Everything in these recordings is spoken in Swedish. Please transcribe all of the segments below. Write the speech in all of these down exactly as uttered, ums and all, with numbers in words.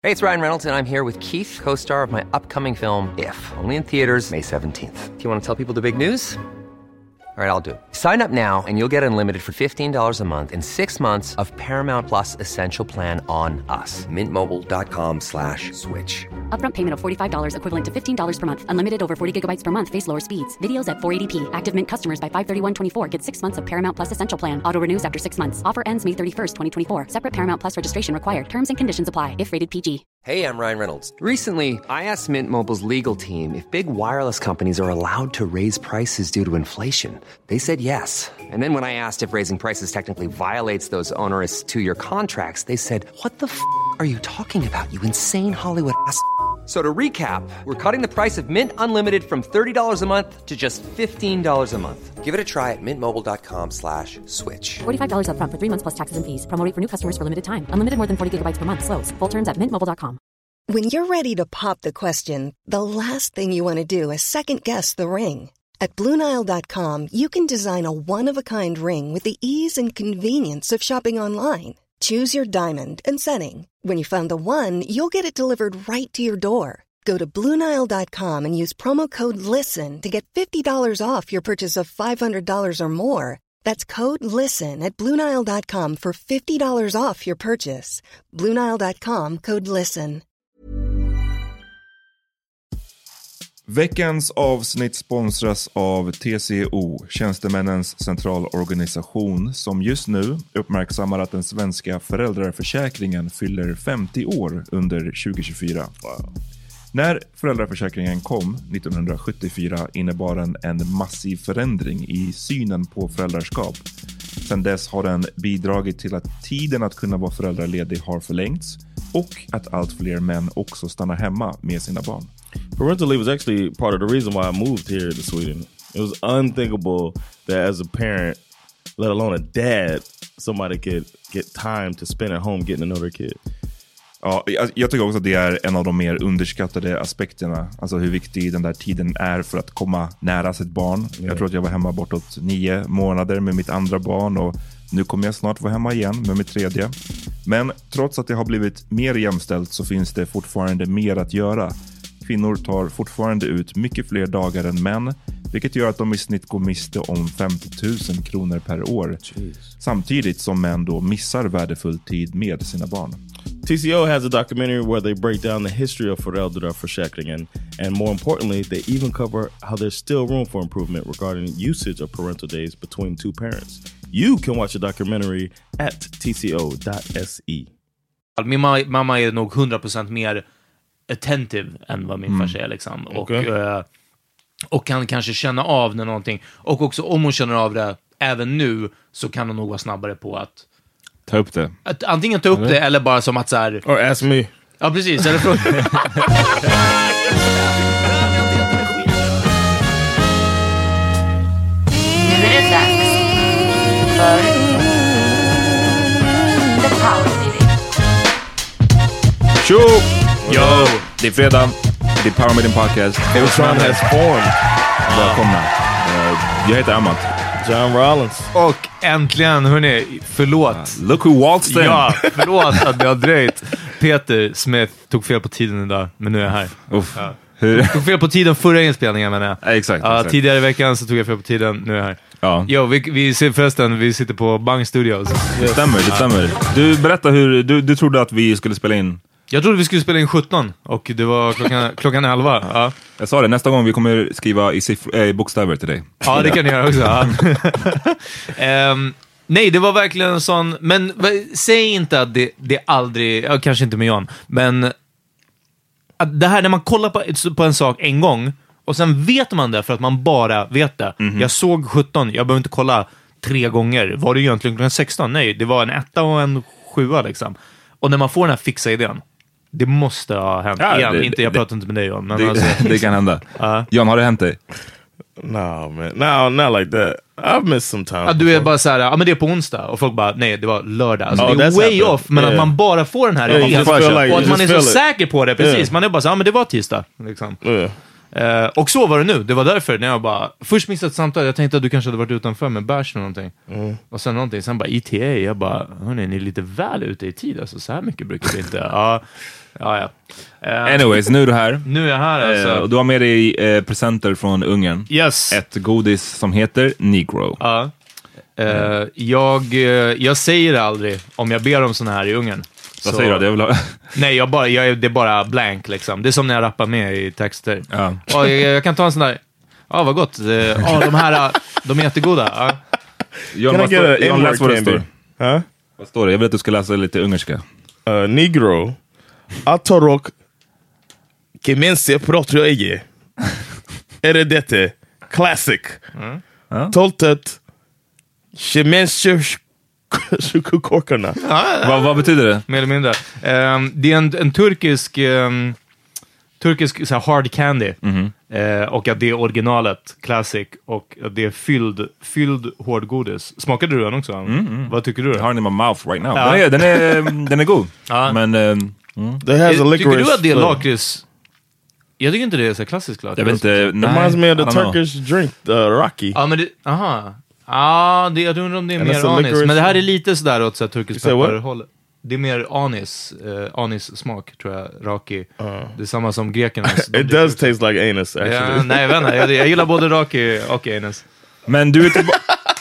Hey, it's Ryan Reynolds, and I'm here with Keith, co-star of my upcoming film, If, only in theaters May seventeenth. Do you want to tell people the big news? All right, I'll do it. Sign up now and you'll get unlimited for fifteen dollars a month and six months of Paramount Plus Essential Plan on us. Mint Mobile dot com slash switch. Upfront payment of forty-five dollars equivalent to fifteen dollars per month. Unlimited over forty gigabytes per month. Face lower speeds. Videos at four eighty p. Active Mint customers by five thirty-one twenty-four get six months of Paramount Plus Essential Plan. Auto renews after six months. Offer ends May thirty-first, twenty twenty-four. Separate Paramount Plus registration required. Terms and conditions apply if rated P G. Hey, I'm Ryan Reynolds. Recently, I asked Mint Mobile's legal team if big wireless companies are allowed to raise prices due to inflation. They said yes. And then when I asked if raising prices technically violates those onerous two-year contracts, they said, what the f*** are you talking about, you insane Hollywood ass f- So to recap, we're cutting the price of Mint Unlimited from thirty dollars a month to just fifteen dollars a month. Give it a try at mintmobile.com slash switch. forty-five dollars upfront for three months plus taxes and fees. Promo rate for new customers for limited time. Unlimited more than forty gigabytes per month. Slows full terms at mint mobile dot com. When you're ready to pop the question, the last thing you want to do is second-guess the ring. At Blue Nile dot com, you can design a one-of-a-kind ring with the ease and convenience of shopping online. Choose your diamond and setting. When you find the one, you'll get it delivered right to your door. Go to Blue Nile dot com and use promo code LISTEN to get fifty dollars off your purchase of five hundred dollars or more. That's code LISTEN at Blue Nile dot com for fifty dollars off your purchase. Blue Nile dot com, code LISTEN. Veckans avsnitt sponsras av T C O, Tjänstemännens centralorganisation, som just nu uppmärksammar att den svenska föräldraförsäkringen fyller femtio år under tjugo tjugofyra. Wow. När föräldraförsäkringen kom nittonhundrasjuttiofyra innebar den en massiv förändring i synen på föräldraskap. Sedan dess har den bidragit till att tiden att kunna vara föräldraledig har förlängts och att allt fler män också stannar hemma med sina barn. Parental leave was actually part of the reason why I moved here to Sweden. It was unthinkable that as a parent, let alone a dad, somebody could get time to spend at home getting to know their kid. Ja, jag, jag tycker också att det är en av de mer underskattade aspekterna. Alltså hur viktig den där tiden är för att komma nära sitt barn. Mm. Jag tror att jag var hemma bortåt nio månader med mitt andra barn och nu kommer jag snart vara hemma igen med mitt tredje. Men trots att det har blivit mer jämställt så finns det fortfarande mer att göra. Kvinnor tar fortfarande ut mycket fler dagar än män, vilket gör att de i snitt går miste om femtio tusen kronor per år. Jeez. Samtidigt som män då missar värdefull tid med sina barn. T C O has a documentary where they break down the history of föräldraförsäkringen, and more importantly, they even cover how there's still room for improvement regarding usage of parental days between two parents. You can watch the documentary at t c o dot s e. Min mamma är nog hundra procent mer attentive än vad min mm. farsa är liksom. Och, okay. uh, och kan kanske känna av när någonting. Och också om hon känner av det även nu så kan hon nog vara snabbare på att ta upp det. Att antingen ta upp eller? det eller bara som att så här. Or ask me. Ja, precis. Eller fråga. Nu är det dags för The Power Meeting. Tjo! Yo! Det är fredag. Det är Power Meeting Podcast. Everyone has formed. Välkomna. Jag heter Amat. John Rollins. Och äntligen, hörni, förlåt. Uh, look who waltzed in. Ja, förlåt att det har dröjt. Peter Smith tog fel på tiden idag, men nu är jag här. Uff. Ja. Hur? Tog fel på tiden förra inspelningen, menar jag. Ja, exakt, ja, exakt. Tidigare i veckan så tog jag fel på tiden, nu är jag här. Ja. Jo, vi, vi ser förresten, vi sitter på Bang Studios. Det stämmer, det stämmer. Du berättar hur, du, du trodde att vi skulle spela in. Jag trodde vi skulle spela in sjutton och det var klockan, klockan elva. Ja. Jag sa det, nästa gång vi kommer skriva i siffr- äh, bokstäver till dig. Ja, det kan ni göra också. Ja. um, nej, det var verkligen en sån... Men säg inte att det, det aldrig... Ja, kanske inte med Jan. Men att det här när man kollar på, på en sak en gång och sen vet man det för att man bara vet det. Mm-hmm. Jag såg sjutton, jag behöver inte kolla tre gånger. Var det egentligen klockan sexton? Nej, det var en etta och en sjua liksom. Och när man får den här fixa idén, det måste ha hänt. Ja, igen. det, inte, jag det, pratar inte med dig om. Men det, alltså, det kan hända. Uh. Jan, har det hänt dig? No, man. No, not like that. I've missed some time. Ja, du är bara så här, ja men det är på onsdag. Och folk bara, nej, det var lördag. Alltså, oh, det är way happened. off. Men yeah. att man bara får den här yeah, idén. like, och att man är så it. säker på det. Precis, yeah. man är bara så, ja men det var tisdag. Liksom. Yeah. Uh, och så var det nu, det var därför när jag bara, först missade ett samtal, jag tänkte att du kanske hade varit utanför med bärs eller någonting. Mm. Och sen någonting, sen bara E T A, jag bara, hörni, ni är lite väl ute i tid, alltså så här mycket brukar det inte. Ja, ja, ja. Uh, Anyways, nu är du här. Nu är jag här alltså. Uh, och du har med dig uh, presenter från Ungern. Yes. Ett godis som heter Negro. Ja. Uh, mm. jag, jag säger det aldrig om jag ber om såna här i Ungern. Vad så, säger du? Det är väl... Nej, jag bara, jag, det är bara blank liksom. Det är som när jag rappar med i texter. Ja. Och jag, jag kan ta en sån där, ja vad gott. Ja, de här, de är jättegoda. Ja. John, vad står, John, läs vad det står. Huh? Vad står det? Jag vill att du ska läsa lite ungerska. Uh, Negro. Atorok. Kemense protroege. Eredete. Classic. Mm. Ja. Toltet. Kemense korkarna. Ja, ja. Vad, vad betyder det? Mer eller mindre. Um, det är en, en turkisk um, turkisk så här, hard candy. Mm-hmm. Uh, och att det är originalet, classic. Och att det är fylld, fylld hårdgodis. Smakade du den också? Mm-hmm. Vad tycker du? Jag har den i my mouth right now. Ja. Den, är, den, är, den är god. Ja. Men... Um, mm. Tycker du att det är lakrits? Jag tycker inte det är så klassisk lakrits. Jag vet inte. Nej, reminds me of the Turkish know. drink, the Rocky. Ja, men det... Aha. Ja, det, jag undrar om det är And mer anis. Men det här är lite sådär åt så turkisk pepparhåll. Det är mer anis, uh, anis-smak tror jag, raki. Uh. Det är samma som grekernas. It does taste like anus actually. Ja, nej, jag vet inte. Jag, jag gillar både raki och anus. Men du är tillbaka...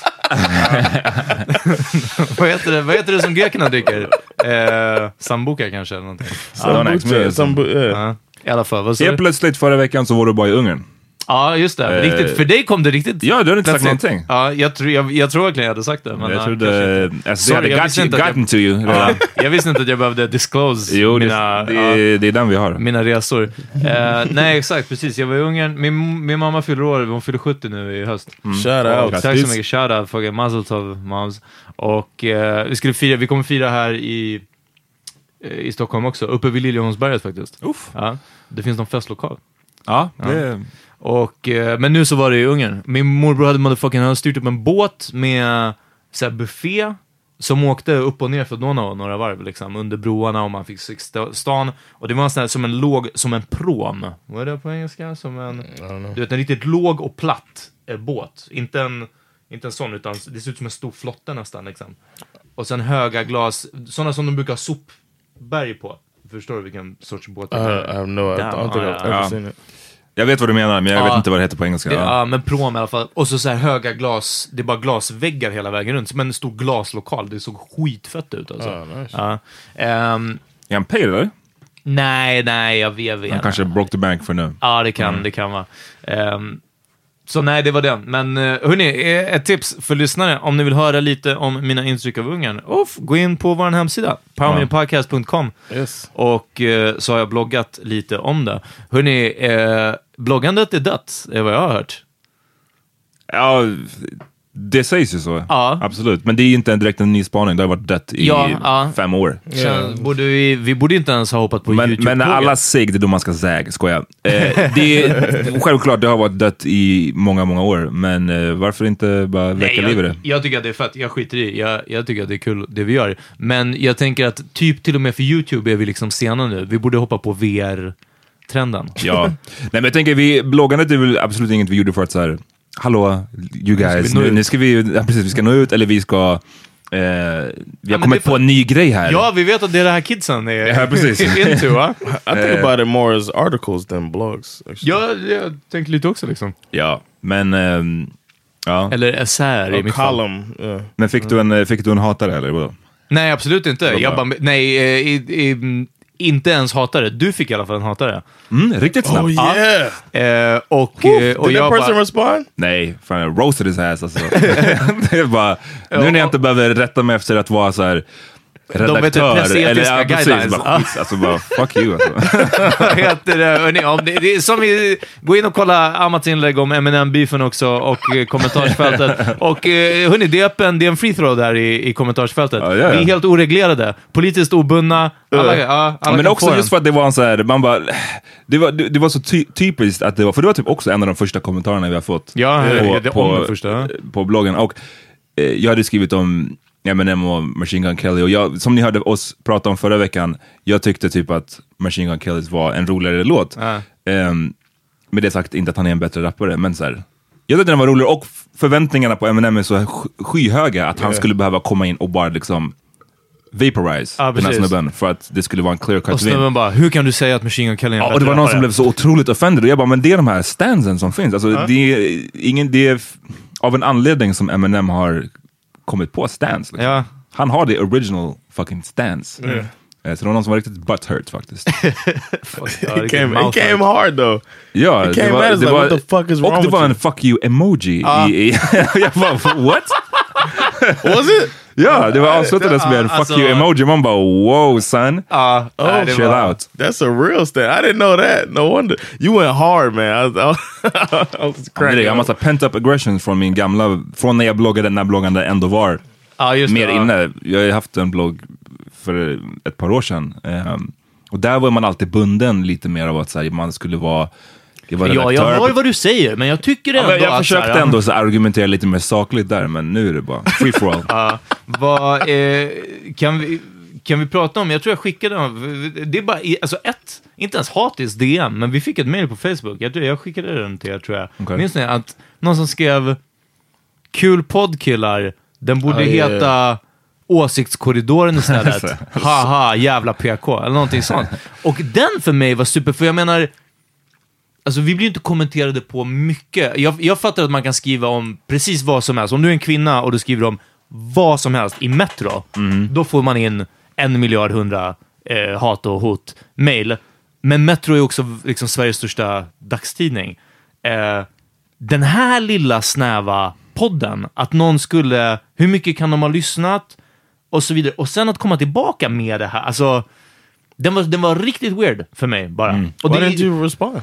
vad, heter det, vad heter det som grekerna dricker? Eh, sambuca kanske eller någonting. Sambuca, sambu- yeah. Ja, i alla fall. Vad sa Helt du? plötsligt förra veckan så var du bara i Ungern. Ja, just det. Eh, riktigt, för dig kom det riktigt. Ja, du har inte sagt plötsligt. någonting. Ja, jag, tror, jag, jag tror verkligen jag hade sagt det. Men jag ja, trodde... Alltså, Sorry, det jag hade visste got- inte att gotten jag- to you. Ja, jag visste inte att jag behövde disclose Jo, det, mina, det, ja, det är den vi har. mina resor. uh, nej, exakt. Precis. Jag var i Ungern. Min, min mamma fyller år. Hon fyller sjuttio nu i höst. Mm. Shout out. Och, tack så mycket. Shout out. Fucking mazel tov, moms. Och uh, vi skulle fira... Vi kommer fira här i... i Stockholm också. Uppe vid Liljeholmsberget faktiskt. Uff. Ja, det finns någon festlokal. Ja, det... Ja. Och, eh, men nu så var det i Ungern. Min morbror hade motherfucking hade styrt upp en båt med så här, buffé som åkte upp och ner för Donau några varv liksom, under broarna och man fick se stan. Och det var en sån här, som en låg, som en prom. Vad är det på engelska? Som en, du vet, en riktigt låg och platt eh, båt. Inte en, inte en sån, utan det ser ut som en stor flotte nästan liksom. Och sen höga glas, sådana som de brukar ha sopberg på. Förstår du vilken sorts båt det är? I, I have no, I don't think I've ever seen it. Jag vet vad du menar, men jag ja, vet inte vad det heter på engelska. Det, ja. ja, men prom i alla fall. Och så, så här höga glas, det är bara glasväggar hela vägen runt. Som en stor glaslokal, det såg skitfett ut alltså. Oh, nice. Ja. Um, är han pale eller? nej, nej, jag vet inte. Han kanske broke the bank för nu. Ja, det kan, mm. det kan vara. Um, så nej, det var den. Men uh, hörni, ett tips för lyssnare. Om ni vill höra lite om mina intryck av Ungern. Off, gå in på vår hemsida. power media podcast dot com. Yes. Och uh, så har jag bloggat lite om det. Hörni, uh, bloggandet är dött, är vad jag har hört. Ja, det sägs ju så. Ja. Absolut. Men det är inte en direkt en ny spaning. Det har varit dött i ja, ja. fem år. Yeah. Borde vi, vi borde inte ens ha hoppat på men, YouTube. Men alla säger det då man ska säga, skoja. Eh, det är, självklart, det har varit dött i många, många år. Men eh, varför inte bara väcka liv i det? Jag tycker att det är fett. Jag skiter i. Jag, jag tycker att det är kul det vi gör. Men jag tänker att typ till och med för YouTube är vi liksom sena nu. Vi borde hoppa på V R-trenden. Ja. Nej, men jag tänker, vi, bloggandet är väl absolut inget vi gjorde för att så här, hallå, you guys, nu, nu ska vi, ja, precis, vi ska nå ut, eller vi ska, eh, vi har ja, kommit på en ny grej här. Ja, vi vet att det är det här kidsen är ja, precis. into, va? I think about it more as articles than blogs. Ja, jag tänker lite också liksom. Ja, men, um, ja. Eller essäer i mitt column, fall. Yeah. Men fick du en, fick du en hatare, eller vadå? Nej, absolut inte. Jag bara, nej, i, i, inte ens hatare. Du fick i alla fall en hatare. Mm, riktigt snabbt. Oh yeah! Ja. Eh, och, Oof, och did jag that person bara, respond? Nej, fan, jag roasted his ass alltså. Det är bara, nu när jag inte behöver rätta mig efter att vara så här redaktör. De vet inte, pressetiska ja, guidelines. Precis, bara, skits, alltså bara, fuck you alltså. Vad heter det? Hörrni, om det, det är som vi, gå in och kolla Amats inlägg om M and M-beefen också och eh, kommentarsfältet. Och eh, hörni, det är öppen, det är en free throw där i, i kommentarsfältet. Ja, ja, ja. Vi är helt oreglerade, politiskt obundna. Alla, Uh. ja, alla Ja, men kan också få just för att det var en så här, man bara, det var, det, det var så ty, typiskt att det var, för det var typ också en av de första kommentarerna vi har fått. Ja, på, det, det, på, om det första. på bloggen. Och eh, jag hade skrivit om M and M och Machine Gun Kelly, och jag, som ni hörde oss prata om förra veckan, jag tyckte typ att Machine Gun Kellys var en roligare låt. Ja. Um, med det sagt inte att han är en bättre rappare, men så här, jag tyckte den var rolig och förväntningarna på Eminem är så skyhöga att han yeah. skulle behöva komma in och bara liksom vaporize ah, den här snubben för att det skulle vara en clear cut. Och snubben bara, hur kan du säga att Machine Gun Kelly är en ja, och det var någon som blev så otroligt offended och jag bara, men det är de här stansen som finns. Alltså, uh. det, är ingen, det är av en anledning som Eminem har kommit på stans. Liksom. Ja. Han har det original fucking stans. Mm. Så det var någon som var riktigt butthurt faktiskt. It came, it came hard though. Ja, it came det var, det det like, var, what the fuck is wrong och det var you? en fuck you emoji uh. i, i jag bara, what? Was it? Ja, det var avslutades med en fuck alltså, you emoji. Man bara, wow son. Uh, oh, chill var, out. That's a real stand. I didn't know that. No wonder. You went hard, man. I was, I was, I was crazy. Jag har massa pent up aggression från min gamla, från när jag bloggade när bloggande ändå var uh, just mer det, inne. Uh. Jag har haft en blogg för ett par år sedan. Um, och där var man alltid bunden lite mer av att så här, man skulle vara Ja, jag hör vad du säger, men jag tycker ändå ja, jag att... försökte här, ändå så argumentera lite mer sakligt där, men nu är det bara free for all. uh, vad, eh, kan, vi, kan vi prata om, jag tror jag skickade dem, det är bara, alltså ett, inte ens hatis D M, men vi fick ett mail på Facebook, jag, tror, jag skickade den till er tror jag. Okay. Minns ni att någon som skrev kul poddkillar, den borde uh, heta... Yeah. Åsiktskorridoren istället. Haha, jävla P K. Eller någonting sånt. Och den för mig var super, för jag menar, alltså vi blir ju inte kommenterade på mycket. Jag, jag fattar att man kan skriva om precis vad som helst. Om du är en kvinna och du skriver om vad som helst i Metro, mm. då får man in en miljard hundra eh, hat och hot mail. Men Metro är också liksom Sveriges största dagstidning. Eh, den här lilla snäva podden, att någon skulle, hur mycket kan de ha lyssnat? Och så vidare. Och sen att komma tillbaka med det här. Alltså, den var, den var riktigt weird för mig bara. Mm. Och Why det, did you respond?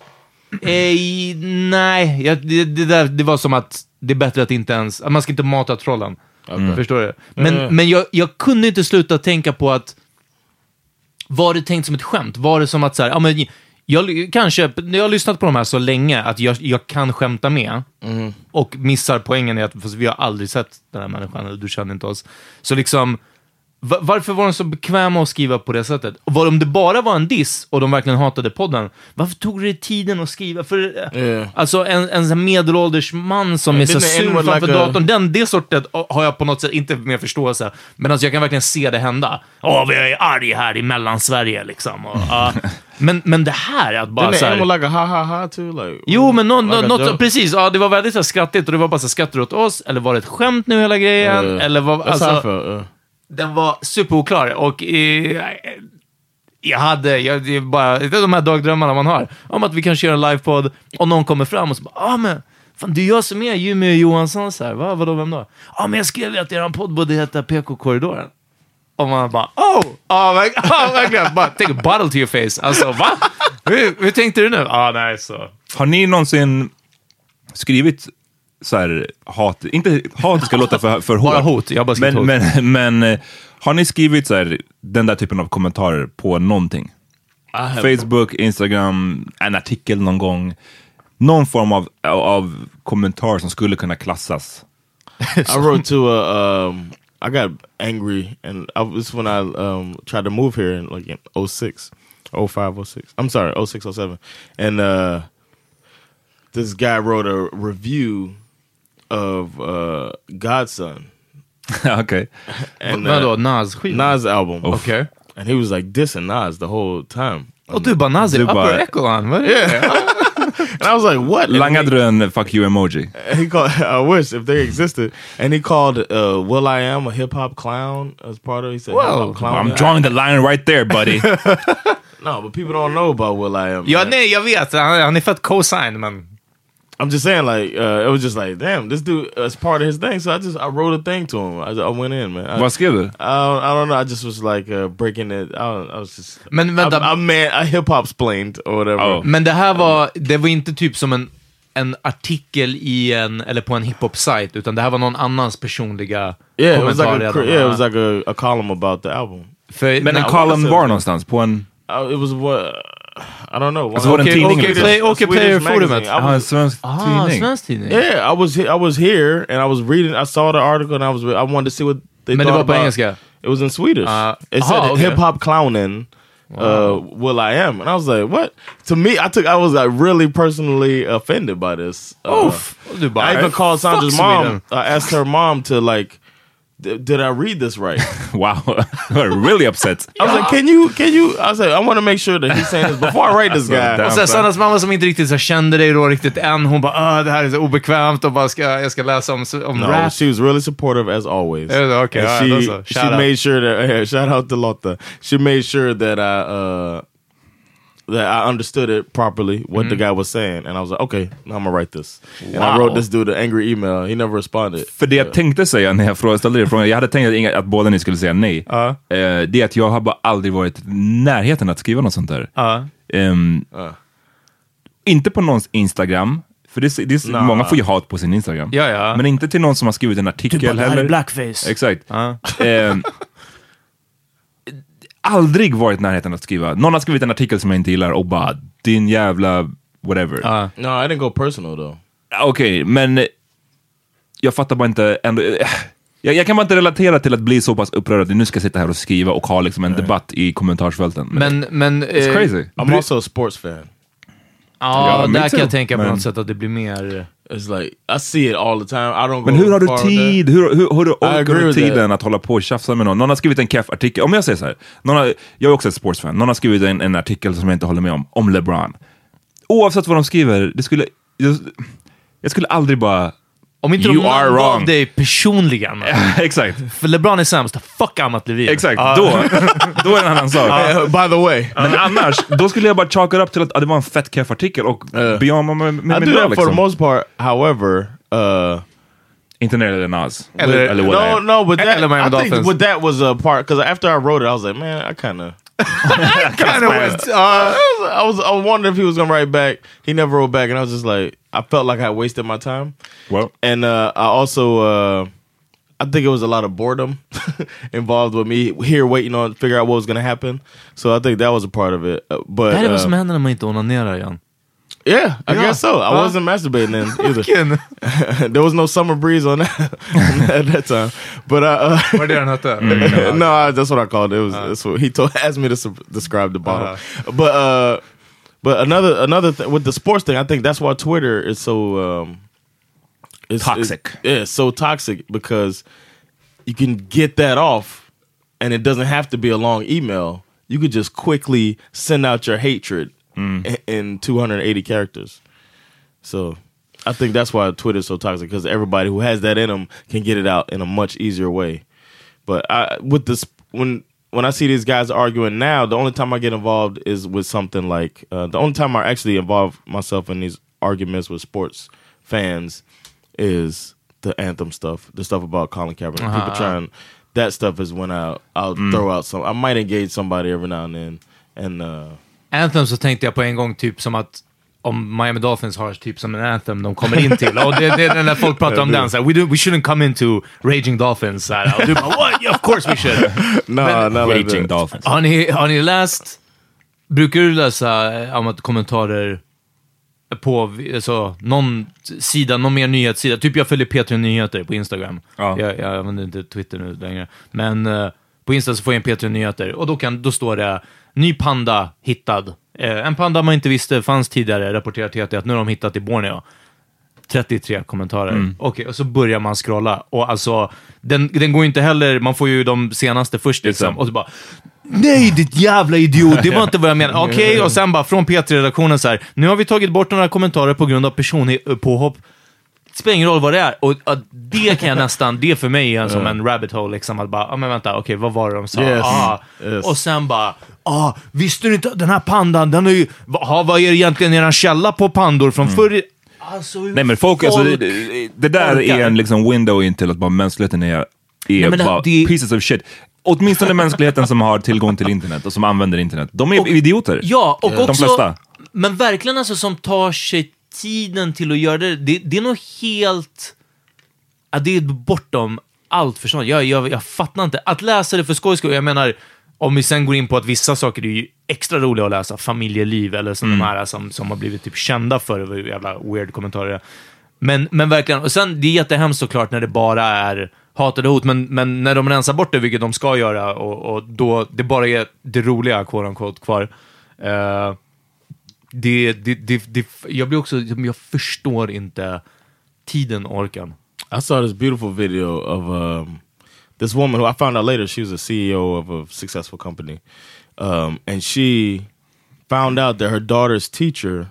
Eh, nej, jag, det, det, där, det var som att det är bättre att inte ens, att man ska inte mata trollen. Mm. Förstår du? Men, mm. men jag, jag kunde inte sluta tänka på att, var det tänkt som ett skämt? Var det som att så här, ja men jag kanske, jag har lyssnat på de här så länge att jag, jag kan skämta med mm. och missar poängen i att fast vi har aldrig sett den här människan, eller du känner inte oss. Så liksom, var, varför var de så bekväma att skriva på det sättet? Och var, om det bara var en diss och de verkligen hatade podden, varför tog det tiden att skriva? För yeah. alltså en, en medelålders man som yeah, är så sur framför like datorn, a... den, det sortet har jag på något sätt inte mer förståelse. Men alltså jag kan verkligen se det hända. Åh, vi är arg här i Mellansverige liksom. Och, uh, men, men det här att bara så här... like a ha ha ha too, like, jo, men no, like no, något, precis, ja, det var väldigt så här skrattigt och det var bara så skrattar åt oss, eller var det ett skämt nu hela grejen, uh, eller vad, alltså... Uh. Den var superoklar och eh, jag hade jag, det är bara det är de här dagdrömmarna man har om att vi kan köra en livepodd och någon kommer fram och så bara, ah men fan, det är jag som är Jimmy Johansson så här, va, vadå, vem då? Ja ah, men jag skrev att er podd borde heta P K-korridoren. Och man bara, oh, oh, oh verkligen, bara take a bottle to your face. Alltså, va? hur, hur tänkte du nu? Ja, ah, nej, så. Har ni någonsin skrivit så här hat, inte hat ska låta för, för hårt. Bara hot, jag bara men, hot. Men, men har ni skrivit så här, den där typen av kommentarer på någonting? Facebook, Instagram, en artikel någon gång. Någon form av, av kommentar som skulle kunna klassas. I wrote to a, um, I got angry and I, this when I um, tried to move here in like in oh six, oh five, oh six. I'm sorry, oh six, oh seven. And uh, this guy wrote a review of uh, Godson. Okay. And uh, Nas Nas album. Oof. Okay. And he was like dissing Nas the whole time. Och du bara Nas är upper echelon. Yeah. And I was like, what? Langade du en fuck you emoji? He called, I wish if they existed. And he called uh, Will I Am a hip hop clown as part of it. He said, well, clown. I'm drawing the line right there, buddy. No, but people don't know about Will I Am. Ja, nej, jag vet. Han, han är fett co-sign, men... I'm just saying, like, uh, it was just like, damn, this dude is part of his thing. So I just, I wrote a thing to him. I, I went in, man. I, Vad skrev du? I don't, I don't know. I just was like uh, breaking it. I, don't, I was just... Men vänta. I, I, man, I hip-hop-splained or whatever. Oh. Men det här var, det var inte typ som en, en artikel i en, eller på en hiphop-sajt, utan det här var någon annans personliga yeah, kommentar. It was like a, yeah, it was like a, a column about the album. För, men en column var någonstans? På en... Uh, it was what... I don't know. Alltså, okay, okay, okay, play, okay, Player-forumet. Ah, svensk tidning. Svensk tidning. Yeah, I was I was here and I was reading. I saw the article and I was I wanted to see what they Men thought det var på about. engelska. It was in Swedish. Uh, it aha, said okay. hip hop clowning uh, Will I Am, and I was like, what? To me, I took I was like really personally offended by this. Uh, Oof. I even called Sandra's Fuck mom. I asked her mom to like, d- did I read this right? Wow, really upset. I was like, can you, can you? I was like, I want to make sure that he's saying this before I write this guy. Och sen Sannas mamma som inte riktigt så kände dig då riktigt än, hon bara, ah, det här är så obekvämt och bara ska, jag ska läsa om, om No, rap. she was really supportive as always. Yeah, okay, And all she right, that's a she shout out. made sure that yeah, shout out to Lotta. She made sure that I uh that I understood it properly what the guy was saying, and I was like, okay, now I'm gonna write this. And I wrote this dude an angry email. He never responded. För det jag tänkte säga när jag frågade, ställde er frågan, jag hade tänkt att, inga, att båda ni skulle säga nej. Uh. Eh, det är att jag har bara aldrig varit i närheten att skriva något sånt där. Uh. Ehm, Uh. Inte på någons Instagram. För det, är- det är, Nah. många får ju hat på sin Instagram. Ja, ja. Men inte till någon som har skrivit en artikel heller. blackface. Exakt. Ja. Ehm, aldrig varit i närheten att skriva. Någon har skrivit en artikel som jag inte gillar och bara, din jävla whatever. Uh. No, I didn't go personal though. Okej, men jag fattar bara inte ändå. Jag, jag kan bara inte relatera till att bli så pass upprörd att nu ska jag sitta här och skriva och ha liksom en debatt i kommentarsfälten. Men, men... It's eh, crazy. I'm also a sports fan. Ja, Ja, me där kan too. jag tänka på Men- något sätt att det blir mer... It's like I see it all the time. I don't. Men go hur har du far with tid? Hur, hur, hur, hur agree orkar du with tiden that. att hålla på och tjafsa med någon? Någon har skrivit en keff artikel. Om jag säger så här, någon har, jag är också ett sportsfan. Någon har skrivit en, en artikel som jag inte håller med om, om LeBron. Oavsett vad de skriver, det skulle, jag, jag skulle aldrig bara... Om inte You de are namngav wrong. dig personligen. Exakt. För LeBron är sämst. Fuck Amat Levin. Exakt, Ja. då, då är det en annan sak. Uh, by the way, Men annars, då skulle jag bara chalka upp till att ah, det var en fett keff artikel och Uh. be on med, med, med I det do that for the liksom. most part. However, uh, Inte när det är Nas. Eller- Eller what I no, am. no, but that Eller Miami I think Dolphins. what that was a part because after I wrote it, I was like, man, I kind of. Kind of went, uh, I was I was wondering if he was gonna write back. He never wrote back, and I was just like, I felt like I wasted my time. Well, And uh, I also, uh, I think it was a lot of boredom involved with me here waiting on to figure out what was gonna happen. So I think that was a part of it. Uh, but det här är vad uh, som händer när man inte onanerar igen. yeah, I Yeah. guess so. I Huh? wasn't masturbating then either. Vilken? There was no summer breeze on that at that time. But uh, uh, Vad är det den hette? no, I, that's what I called it. It was that's what he told asked me to su- describe the bottle. But uh, but another another thing with the sports thing, I think that's why Twitter is so um, it's, Toxic. It's, yeah, it's so toxic because you can get that off, and it doesn't have to be a long email. You could just quickly send out your hatred in, in two hundred eighty characters. So I think that's why Twitter is so toxic because everybody who has that in them can get it out in a much easier way. But I, with this, when when I see these guys arguing now, the only time I get involved is with something like uh, the only time I actually involve myself in these arguments with sports fans is the anthem stuff, the stuff about Colin Kaepernick. Uh-huh. People trying that stuff is when I I'll throw out some. I might engage somebody every now and then, and uh, Anthem så tänkte jag på en gång typ som att om Miami Dolphins har typ som en anthem de kommer in till. Och det, det är när folk pratar om den så här, we, do, we shouldn't come into Raging Dolphins. Så här, och du bara, what? Yeah, of course we should. no, Men- not like Raging that. Dolphins. Har ni, har ni läst, brukar du läsa eh, om att kommentarer på alltså, någon sida, någon mer nyhetssida? Typ jag följer P tre Nyheter på Instagram. Ja. Jag, jag använder inte Twitter nu längre. Men eh, på Insta så får jag en P tre Nyheter och då, kan, då står det ny panda hittad. Eh, en panda man inte visste fanns tidigare, rapporterar T T att nu har de hittat i Borneo. trettiotre kommentarer. Mm. Okej, och så börjar man scrolla. Och alltså, den, den går ju inte heller, man får ju de senaste först liksom. Exakt. Och så bara, nej ditt jävla idiot, det var inte vad jag menade. Okej, och sen bara från P tre-redaktionen så här, nu har vi tagit bort några kommentarer på grund av personpåhopp. Det spelar ingen roll vad det är. Och uh, det kan jag nästan, det för mig är en som en rabbit hole liksom. Att bara, ja ah, men vänta, okej, okay, vad var det de sa? Yes. Ah. Yes. Och sen bara, ah, visste du inte att den här pandan, den är ju, vad, vad är det egentligen eran källa på pandor från Mm. förr? Alltså, hur Nej men folk, alltså, det, det där orkar. är en liksom window in till att bara mänskligheten är, är Nej, men det- bara det- pieces of shit. Åtminstone mänskligheten som har tillgång till internet och som använder internet. De är Och- idioter. Ja, och De också, flesta. men verkligen alltså som tar sig tiden till att göra det, det, det är nog helt, ja, det är bortom allt förstånd. Jag, jag, jag fattar inte. Att läsa det för skojs skull, jag menar, om vi sen går in på att vissa saker är ju extra roliga att läsa, familjeliv eller som Mm. de här som, som har blivit typ kända för, det jävla weird kommentarer. Men, men verkligen, och sen det är jättehemskt såklart när det bara är hatade hot, men, men när de rensar bort det, vilket de ska göra, och, och då det bara är det roliga, quote unquote, kvar. Uh, det, det, det, det, jag blir också, jag förstår inte tiden, orkan. I saw this beautiful video of um, this woman who I found out later, she was a C E O of a successful company. Um, and she found out that her daughter's teacher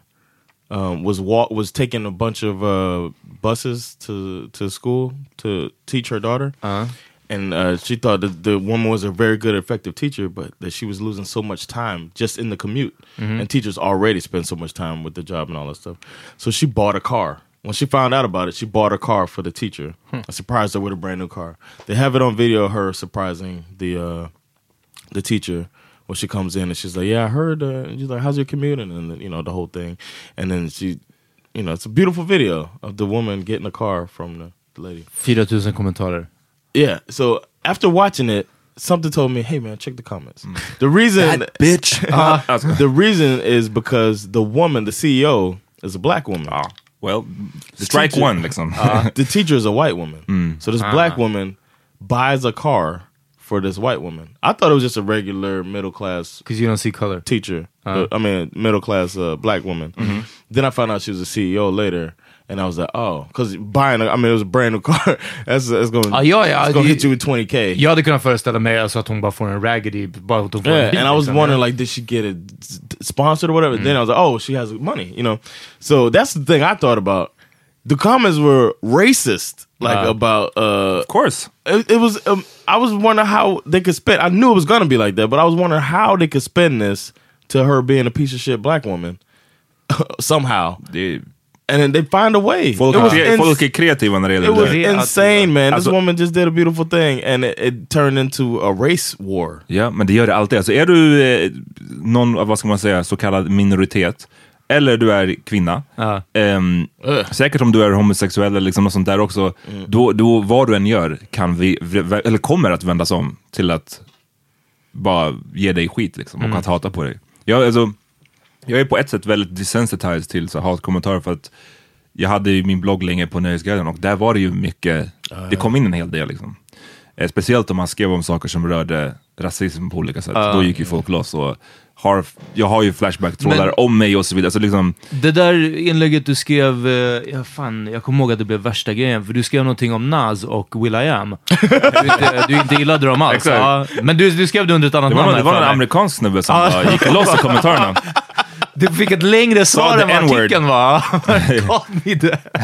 um, was walk was taking a bunch of uh, buses to to school to teach her daughter, uh-huh. and uh, she thought that the woman was a very good, effective teacher, but that she was losing so much time just in the commute, mm-hmm. and teachers already spend so much time with the job and all that stuff. So she bought a car. When she found out about it, she bought a car for the teacher. Hmm. I surprised her with a brand new car. They have it on video, her surprising the uh, the teacher. When she comes in and she's like, yeah, I heard, uh, and she's like, how's your commute? And then, you know, the whole thing. And then she, you know, it's a beautiful video of the woman getting a car from the, the lady. fyra tusen kommentarer. Yeah, so after watching it, something told me, hey man, check the comments. Mm. The reason, that bitch. uh, the reason is because the woman, the C E O, is a black woman. Ah, well, the strike teacher, one, liksom. uh, the teacher is a white woman. Mm. So this ah. black woman buys a car for this white woman. I thought it was just a regular middle class, because you don't see color, teacher. Uh, I mean, middle class uh, black woman. Mm-hmm. Then I found out she was a C E O later, and I was like, oh, because buying, a, I mean, it was a brand new car. that's that's going, uh, ja, ja, it's going to hit you with twenty K. Jag hade kunnat föreställa mig alltså att hon bara får en raggedy, bara att hon får yeah, en bil, and I was liksom. wondering, like, did she get it sponsored or whatever? Mm. Then I was like, oh, she has money, you know. So that's the thing I thought about. The comments were racist, like uh, about. Uh, of course, it, it was. Um, I was wondering how they could spin. I knew it was gonna be like that, but I was wondering how they could spin this to her being a piece of shit black woman somehow. Det, and then they find a way. Folk, it was kre- folk är kreativa när det gäller it was det. insane, man. Alltså, this woman just did a beautiful thing, and it, it turned into a race war. Ja, men det gör det alltid. Alltså, är du eh, någon, vad ska man säga, så kallad minoritet, eller du är kvinna, uh. Um, uh. säkert om du är homosexuell eller liksom något sånt där också, mm. då, då vad du än gör kan vi, eller kommer att vändas om till att bara ge dig skit liksom, och mm. att hata på dig. Jag, alltså, jag är på ett sätt väldigt desensitized till så hatkommentarer, för att jag hade ju min blogg länge på Nöjesguiden, och där var det ju mycket, uh. det kom in en hel del liksom. Eh, speciellt om man skrev om saker som rörde rasism på olika sätt. Uh. Då gick ju folk loss, och har, jag har ju flashback-trådar om mig och så vidare. Så liksom, det där inlägget du skrev, eh, ja, fan, jag kommer ihåg att det blev värsta grejen, för du skrev någonting om Nas och Will I Am. du, inte, du inte gillade dem alls. Ja, men du, du skrev det under ett annat det var namn. Någon, det var en amerikansk snubbe som uh. gick loss i kommentarerna. Du fick ett längre svar än vad artikeln var. Call me that.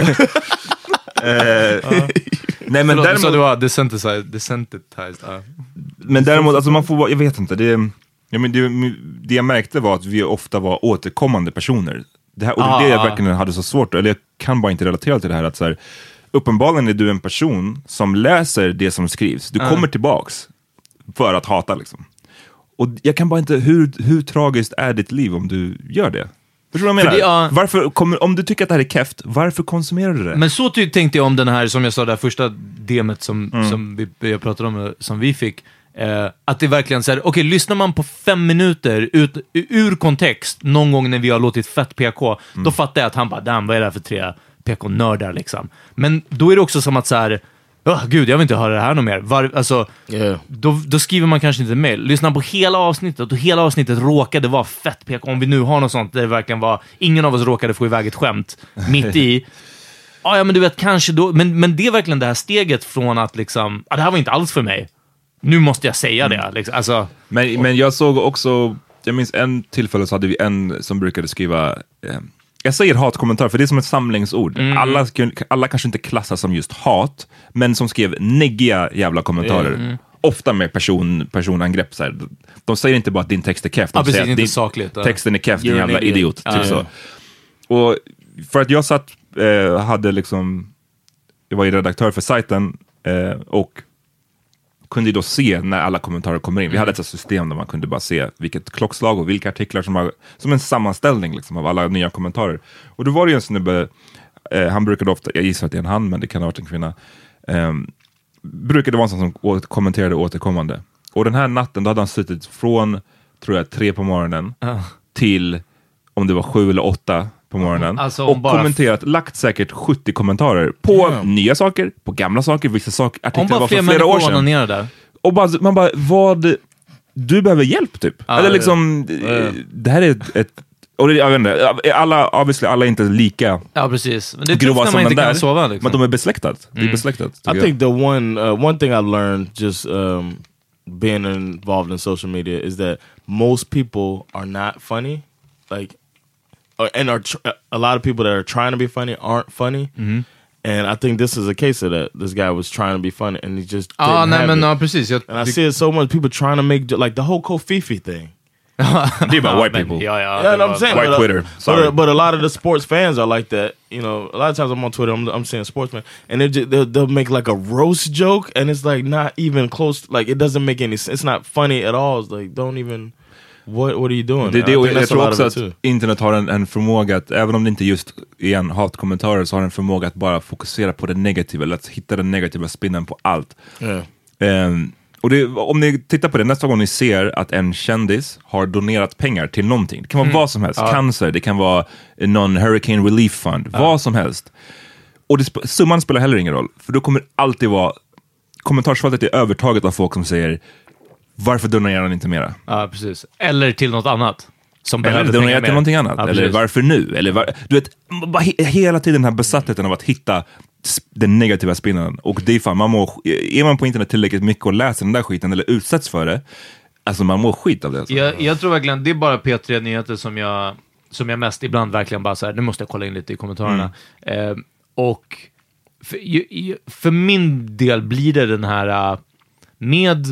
uh. Nej, men däremot, så du var desensitized, desensitized. Uh. Men däremot, alltså man får, jag vet inte, det, ja, men det, det jag märkte var att vi ofta var återkommande personer. Det här, och ah. det jag verkligen hade så svårt, eller jag kan bara inte relatera till det här, att så här, uppenbarligen är du en person som läser det som skrivs. Du uh. kommer tillbaks för att hata liksom. Och jag kan bara inte, hur, hur tragiskt är ditt liv om du gör det? Förstår du vad jag menar? Det, uh, varför, kommer, om du tycker att det här är keft, varför konsumerar du det? Men så ty- tänkte jag om den här, som jag sa, det här första demet som, mm. som vi, jag pratade om, som vi fick. Eh, att det verkligen så här, okej, okay, lyssnar man på fem minuter ut, ur kontext någon gång när vi har låtit fett P K, mm. då fattar jag att han bara, damn, vad är det här för tre P K-nördar liksom. Men då är det också som att så här, oh, gud, jag vill inte höra det här något mer. Var, alltså, yeah. då, då skriver man kanske inte mail. Lyssnar på hela avsnittet, och hela avsnittet råkade vara fett P K. Om vi nu har något sånt där det verkligen var, ingen av oss råkade få iväg ett skämt mitt i. Ah, ja, men du vet, kanske då, men, men det är verkligen det här steget från att liksom, ah, det här var inte alls för mig. Nu måste jag säga det. Liksom. Alltså, men, men jag såg också, jag minns en tillfälle så hade vi en som brukade skriva, eh, jag säger hatkommentar för det är som ett samlingsord. Mm. Alla, alla kanske inte klassas som just hat, men som skrev neggiga jävla kommentarer. Mm. Ofta med person, personangrepp. Så här. De säger inte bara att din text är keft. De ja, precis, säger att din, sakligt, ja. texten är keft, din jävla idiot. Ja, typ ja. Så. Och för att jag satt, eh, hade liksom, jag var ju redaktör för sajten eh, och kunde då se när alla kommentarer kommer in. Vi hade ett system där man kunde bara se vilket klockslag och vilka artiklar som var, som en sammanställning liksom, av alla nya kommentarer. Och då var det ju en snubbe, eh, han brukade ofta, jag gissar att det är en han, men det kan ha varit en kvinna, eh, brukade vara en sån som åter, kommenterade återkommande. Och den här natten, då hade han suttit från, tror jag, tre på morgonen uh. till, om det var sju eller åtta på morgonen. Alltså, och bara... kommenterat, lagt säkert sjuttio kommentarer på yeah. nya saker, på gamla saker, vissa saker, artiklar var för flera år sedan. Där. Och bara, man bara, vad... Du behöver hjälp typ. Ah, Eller liksom, ja. det här är ett... ett och det, jag vet inte, alla, obviously, alla är inte lika ja, precis. Men det är tufft när man inte kan där, sova. Liksom. Men de är besläktat. Mm. Det är besläktat. I jag. think the one, uh, one thing I've learned just um, being involved in social media is that most people are not funny. Like, and are tr- a lot of people that are trying to be funny aren't funny. Mm-hmm. And I think this is a case of that. This guy was trying to be funny and he just didn't ah, nej, have men, it. No, precis. Jag, and I see it so much, people trying to make, like the whole Kofifi thing. Det är bara white people. Yeah, yeah, yeah I'm saying, white but, Twitter. But, uh, but a lot of the sports fans are like that. You know, a lot of times I'm on Twitter, I'm, I'm seeing sportsmen, and they just, they'll, they'll make like a roast joke, and it's like not even close. Like it doesn't make any sense. It's not funny at all. It's like don't even. What What are you doing? Det, det, jag jag tror också att internet har en, en förmåga att, även om det inte just är en hatkommentarer, så har en förmåga att bara fokusera på det negativa, eller att hitta den negativa spinnen på allt. Yeah. Um, Och det, om ni tittar på det, nästa gång ni ser att en kändis har donerat pengar till någonting. Det kan vara mm. vad som helst. Ja. Cancer, det kan vara någon Hurricane Relief Fund. Ja. Vad som helst. Och det, summan spelar heller ingen roll. För då kommer alltid vara... Kommentarsfältet är övertaget av folk som säger varför donerar han inte mera? Ja, precis. Eller till något annat. Som eller donerar till någonting annat. Ja, eller varför nu? Eller var, du vet, bara he, hela tiden den här besattheten av att hitta den negativa spinnen. Och det är fan, man mår, är man på internet tillräckligt mycket och läser den där skiten eller utsätts för det, alltså man mår skit av det. Alltså. Jag, jag tror verkligen, det är bara P tre Nyheter som jag, som jag mest ibland verkligen bara så här, nu måste jag kolla in lite i kommentarerna. Mm. Eh, och för, för min del blir det den här med,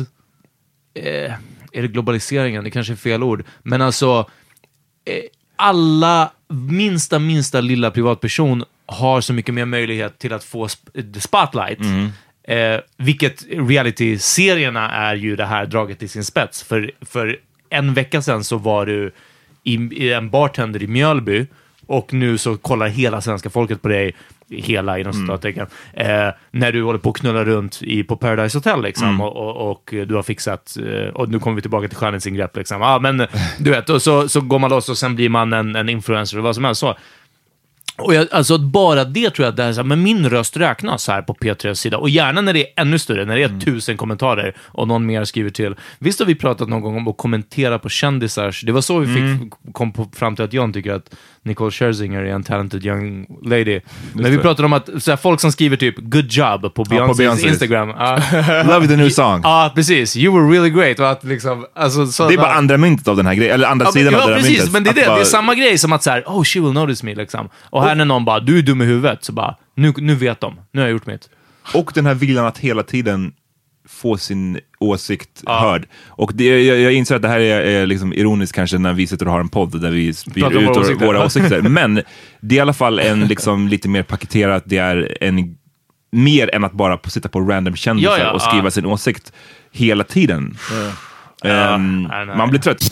eh, är det globaliseringen? Det kanske är fel ord. Men alltså, eh, alla minsta, minsta lilla privatperson har så mycket mer möjlighet till att få sp- spotlight. Mm. Eh, vilket reality-serierna är ju det här draget i sin spets. För, för en vecka sedan så var du i, i en bartender i Mjölby och nu så kollar hela svenska folket på dig, hela inom citattecken, mm. eh, när du håller på att knulla runt i, på Paradise Hotel liksom, mm. och, och, och du har fixat, och nu kommer vi tillbaka till skönhetsingrepp liksom. Ja, men du vet, och så, så går man loss och sen blir man en, en influencer och vad som helst så. Och jag, alltså bara det tror jag att det är så här, men min röst räknas här på P tre:s sida, och gärna när det är ännu större, när det är mm. tusen kommentarer och någon mer skriver till. Visst har vi pratat någon gång om att kommentera på kändisars, det var så vi fick mm. kom på, fram till att John tycker att Nicole Scherzinger är en talented young lady. Just men vi pratade om att så här, folk som skriver typ good job på Beyoncés ja, Instagram. Uh, Love the new song. Ja, uh, precis. You were really great. Och att, liksom, alltså, så, det är bara uh, andra myntet av den här grejen, eller andra ja, sidan ja, av den här precis, myntet. Men det är det. Bara... Det är samma grej som att så här, oh, she will notice me liksom. Och här när någon bara, du är dum i huvudet, så bara, nu, nu vet de. Nu har jag gjort mitt. Och den här viljan att hela tiden få sin åsikt ja. hörd. Och det, jag, jag inser att det här är, är liksom ironiskt kanske när vi sitter och har en podd där vi spyr ut våra åsikter. våra åsikter. Men det är i alla fall en liksom lite mer paketerat, det är en mer än att bara sitta på random kändisar ja, ja, och skriva ja. sin åsikt hela tiden. Ja. Um, ja, man blir trött.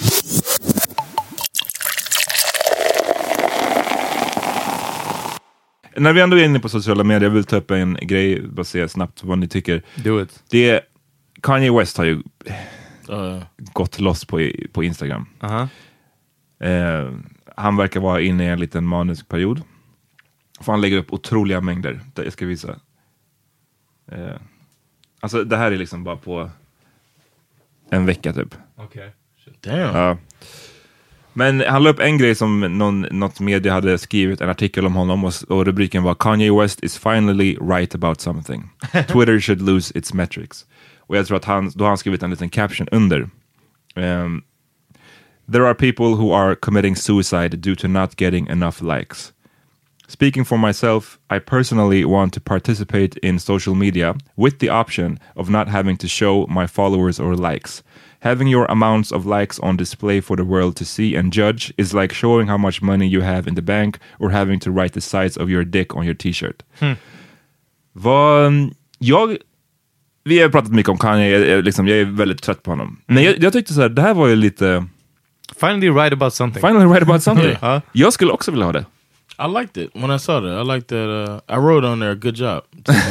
När vi ändå är inne på sociala medier, jag vill ta upp en grej, bara se snabbt vad ni tycker. Do it. Det är, Kanye West har ju uh. gått loss på, på Instagram. Uh-huh. Eh, han verkar vara inne i en liten manisk period. För han lägger upp otroliga mängder. Jag ska visa. Eh, alltså det här är liksom bara på en vecka typ. Okej. Okay. Damn. Ja. Men han la upp en grej som någon, något media hade skrivit en artikel om honom, och, och rubriken var Kanye West is finally right about something. Twitter should lose its metrics. Och jag tror att han, då har han skrivit en liten caption under. Um, There are people who are committing suicide due to not getting enough likes. Speaking for myself, I personally want to participate in social media with the option of not having to show my followers or likes. Having your amounts of likes on display for the world to see and judge is like showing how much money you have in the bank or having to write the size of your dick on your t-shirt. Hmm. Vad, jag, vi har pratat mycket om Kanye, jag, liksom, jag är väldigt trött på honom. Mm. Men jag, jag tyckte så här, det här var ju lite... Finally right about something. Finally right about something. uh. Jag skulle också vilja ha det. I liked it when I saw that. I liked that. Uh, I wrote on there, good job.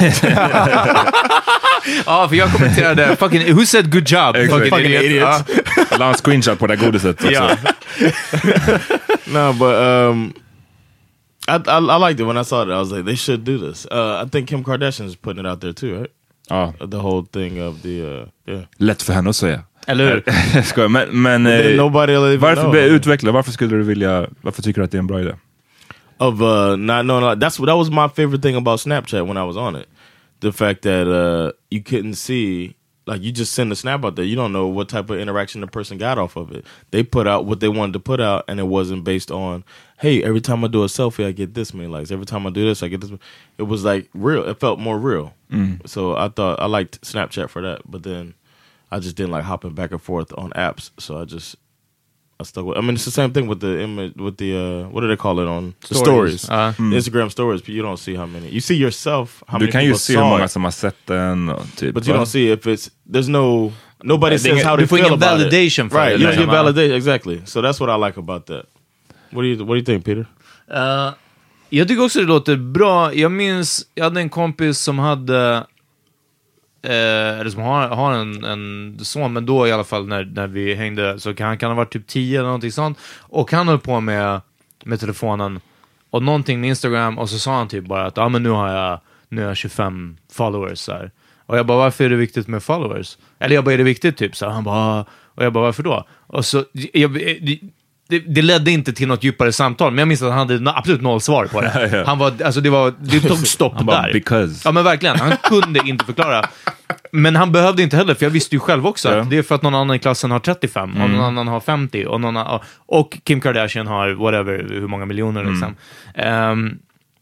Ja, för jag kommenterade fucking, who said good job? Fucking, fucking idiot. La en screenshot på det godiset också. No, but um, I, I I liked it when I saw it. I was like, they should do this. Uh, I think Kim Kardashian's putting it out there too, right? Ja. The whole thing of the uh, yeah. Lätt för henne att säga. Eller hur? Jag skojar, men, men Then nobody will even varför know. be- utveckla? Varför skulle du vilja? Varför tycker du att det är en bra idé? Of uh, not knowing. That's what that was my favorite thing about Snapchat when I was on it. The fact that uh, you couldn't see. Like, you just send a snap out there. You don't know what type of interaction the person got off of it. They put out what they wanted to put out, and it wasn't based on, hey, every time I do a selfie, I get this many likes. Every time I do this, I get this. It was like real. It felt more real. Mm. So I thought I liked Snapchat for that. But then I just didn't like hopping back and forth on apps. So I just I stuck with. I mean, it's the same thing with the image, with the uh, what do they call it on the Stories. stories? Uh. Mm. Instagram stories. But you don't see how many. You see yourself. How Du many kan ju people se hur saw många it. som har sett den. Och typ, But you va? don't see if it's there's no nobody Det är says ingen- how du they får feel ingen about validation it. för Right, det, you don't get liksom. validation exactly. So that's what I like about that. What do you What do you think, Peter? Uh, jag tycker också det låter bra. Jag minns, jag hade en kompis som hade, eh, eller som har, har en, en son, men då i alla fall när, när vi hängde, så kan han kan ha varit typ tio eller någonting sånt. Och han höll på med, med telefonen och någonting med Instagram, och så sa han typ bara att ja, ah, men nu har jag, nu har jag tjugofem followers så här. Och jag bara, varför är det viktigt med followers? Eller jag bara, är det viktigt typ? Så han bara, och jag bara, varför då? Och så, jag, det, det ledde inte till något djupare samtal, men jag minns att han hade absolut noll svar på det. Ja, ja. Han var, alltså det var, det tog stopp Han bara, där. because. Ja men verkligen, han kunde inte förklara. Men han behövde inte heller, för jag visste ju själv också Ja. att det är för att någon annan i klassen har trettiofem, och någon annan har femtio, och, någon annan, och Kim Kardashian har whatever, hur många miljoner liksom. Ehm,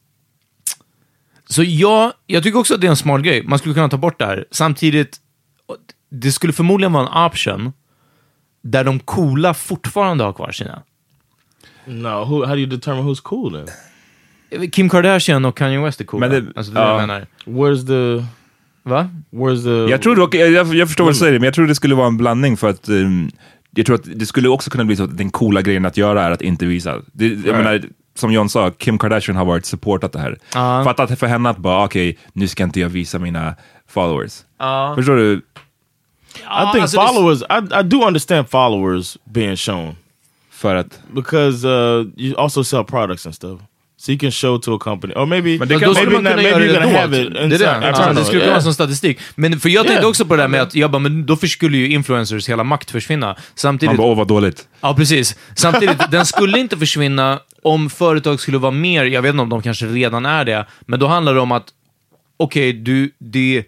så ja, jag tycker också att det är en smart grej. Man skulle kunna ta bort det här. Samtidigt, det skulle förmodligen vara en option där de coola fortfarande har kvar sina. No, who? How do you determine who's cool then? Kim Kardashian och Kanye West är coola. Men det- alltså, det ja. jag menar. Where's the Va? Where's the? Jag tror dock, jag, jag förstår vad du säger, men jag tror det skulle vara en blandning för att um, jag tror att det skulle också kunna bli så att den coola grejen att göra är att inte visa. Det, jag Right. menar, som John sa, Kim Kardashian har varit supportat det här. Ja. Fatta att för henne att bara, okej, okay, nu ska inte jag visa mina followers. Ja. Förstår du? I think alltså det- followers. I I do understand followers being shown För att... because uh, you also sell products and stuff, so you can show to a company, or maybe Men det Men kan- då skulle maybe man kunna not, göra maybe det you're gonna dolt. have it Det är inside. det. I Ja, don't det know, skulle kunna yeah. vara som statistik. Men för jag tänkte Yeah. också på det där med att jag bara, men då för skulle ju influencers hela makt försvinna. Man Samtidigt, bara, åh vad dåligt. ja precis. Samtidigt, den skulle inte försvinna om företag skulle vara mer, jag vet inte om de kanske redan är det, men då handlar det om att okej, okay, du, det...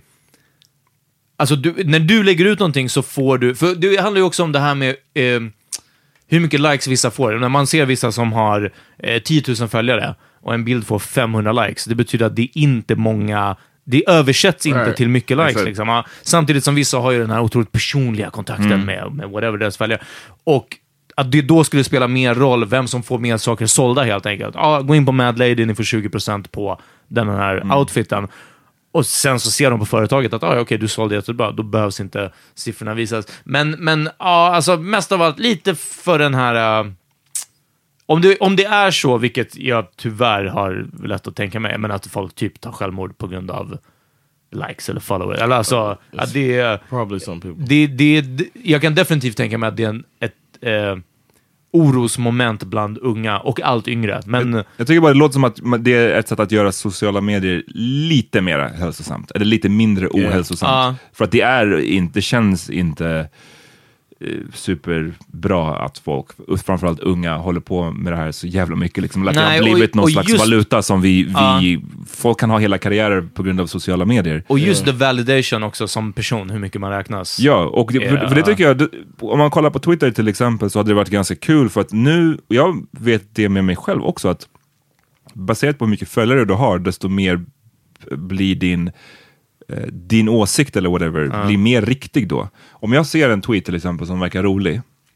Alltså, du, när du lägger ut någonting så får du... För det handlar ju också om det här med eh, hur mycket likes vissa får. När man ser vissa som har eh, tio tusen följare och en bild får femhundra likes, det betyder att det är inte många... Det översätts inte Right. till mycket likes. Exakt. Liksom. Ja, samtidigt som vissa har ju den här otroligt personliga kontakten Mm. med, med whatever deras följare. Och att det då skulle spela mer roll vem som får mer saker sålda helt enkelt. Ja, gå in på Mad Lady, ni får tjugo procent på den här Mm. outfiten. Och sen så ser de på företaget att ah, okej, du sålde jättebra, då behövs inte siffrorna visas. Men, men ja, alltså mest av allt lite för den här... Uh, om, det, om det är så, vilket jag tyvärr har lätt att tänka mig, men att folk typ tar självmord på grund av likes eller followers. Eller alltså, att det är... Probably some people. Det, det, det, jag kan definitivt tänka mig att det är en, ett eh, orosmoment bland unga och allt yngre. Men Jag tycker bara det låter som att man- det är ett sätt att göra sociala medier lite mer hälsosamt. Eller lite mindre ohälsosamt. Ja. För att det är inte, det känns inte eh, superbra att folk, framförallt unga, håller på med det här så jävla mycket. Liksom. Att det Nej, har blivit och- någon och slags just- valuta som vi, vi Ja. folk kan ha hela karriärer på grund av sociala medier. och just the validation också som person, hur mycket man räknas. Ja, och det, för, Ja. för det tycker jag, det, om man kollar på Twitter till exempel, så hade det varit ganska kul, för att nu, jag vet det med mig själv också, att baserat på hur mycket följare du har, desto mer blir din eh, din åsikt eller whatever, blir mer riktig då. Om jag ser en tweet till exempel som verkar rolig,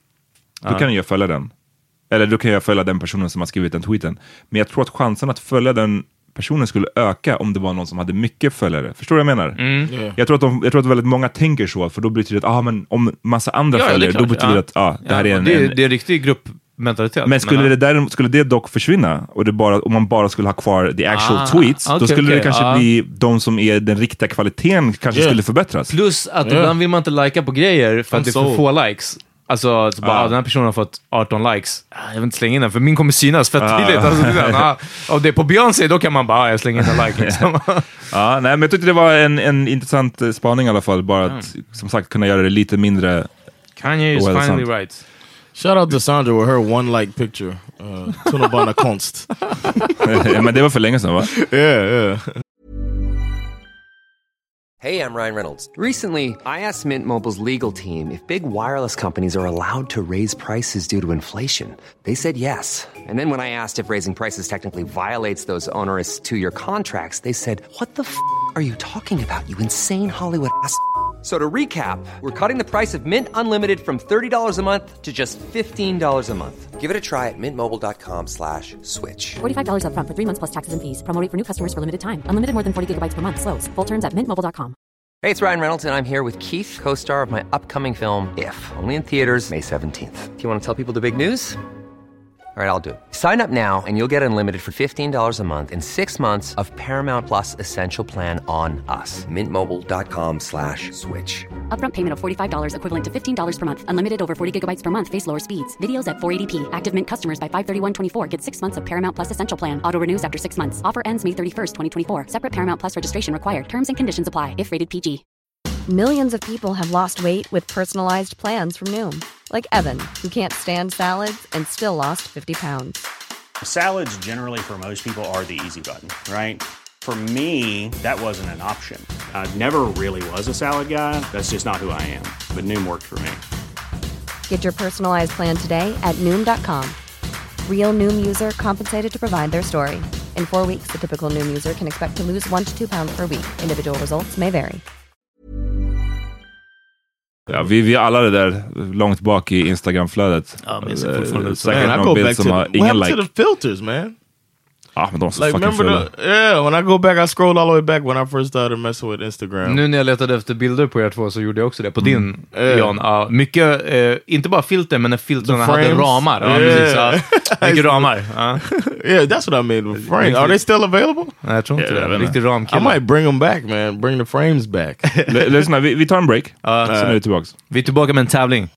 då kan jag följa den. Eller då kan jag följa den personen som har skrivit den tweeten. Men jag tror att chansen att följa den personen skulle öka om det var någon som hade mycket följare. Förstår du vad jag menar? Yeah. Jag, tror att de, jag tror att väldigt många tänker så, för då betyder det att ah, men om massa andra Ja, ja, det är följer, då klart. betyder det Ja. att ah, det här Ja, är en... det, är, en det är en riktig gruppmentalitet. men skulle, Men, det där, skulle det dock försvinna, och det bara, om man bara skulle ha kvar the actual Ah, tweets, okej, då skulle okej, det kanske ja. bli de som är den riktiga kvaliteten kanske Yeah. skulle förbättras. plus att Ja. ibland vill man inte lika på grejer för att I'm det är för sold. få likes. Alltså, så bara, Ah. ah, den här personen har fått arton likes. Ah, jag vill inte slänga in den, för min kommer synas fett Ah. tydligt. Alltså, det ah, och det är på Beyoncé, då kan man bara, ah, jag slänger in en like. Liksom. Ja, nej, men jag tyckte det var en, en intressant eh, spaning i alla fall. Bara att, som sagt, kunna göra det lite mindre... Kanye is Well, finally sant. right. Shout out to Sandra with her one like picture. Uh, Tunnelbana konst. Men det var för länge sedan, va? Yeah, yeah. Hey, I'm Ryan Reynolds. Recently, I asked Mint Mobile's legal team if big wireless companies are allowed to raise prices due to inflation. They said yes. And then when I asked if raising prices technically violates those onerous two-year contracts, they said, "What the f*** are you talking about, you insane Hollywood ass?" So to recap, we're cutting the price of Mint Unlimited from thirty dollars a month to just fifteen dollars a month. Give it a try at mintmobile.com slash switch. forty-five dollars up front for three months plus taxes and fees. Promo rate for new customers for limited time. Unlimited more than forty gigabytes per month. Slows full terms at mint mobile dot com. Hey, it's Ryan Reynolds, and I'm here with Keith, co-star of my upcoming film, If, only in theaters May seventeenth. Do you want to tell people the big news? All right, I'll do it. Sign up now and you'll get unlimited for fifteen dollars a month and six months of Paramount Plus Essential Plan on us. mintmobile.com slash switch. Upfront payment of forty-five dollars equivalent to fifteen dollars per month. Unlimited over forty gigabytes per month. Face lower speeds. Videos at four eighty p. Active Mint customers by five thirty-one twenty-four get six months of Paramount Plus Essential Plan. Auto renews after six months. Offer ends May thirty-first, twenty twenty-four. Separate Paramount Plus registration required. Terms and conditions apply if rated P G. Millions of people have lost weight with personalized plans from Noom. Like Evan, who can't stand salads and still lost fifty pounds. Salads generally for most people are the easy button, right? For me, that wasn't an option. I never really was a salad guy. That's just not who I am. But Noom worked for me. Get your personalized plan today at Noom dot com. Real Noom user compensated to provide their story. In four weeks, the typical Noom user can expect to lose one to two pounds per week. Individual results may vary. Ja, vi, vi alla det där långt bak i Instagram-flödet. Ja, men så fortfarande. Eh, Säkert Man, I någon go bild back to som the, har what ingen happened like. to the filters, man? Ja, men de är så Like, fucking remember fula. the, yeah, when I go back, I scrolled all the way back when I first started messing with Instagram. Nu när jag letade efter bilder på er två så gjorde jag också det på din, Eh. Jan. Ja, mycket, eh, inte bara filter, men när filtrarna The hade frames. ramar. Ja, Yeah. precis. Ja. Mycket ramar. Ja. Yeah, that's what I mean. The frame. Are they still available? Nej, jag tror inte Ja, jag det. vet Riktig I ramkille. might bring them back, man. Bring the frames back. L- Lyssna, vi, vi tar en break. Sen är vi tillbaka. Vi är tillbaka med en tävling.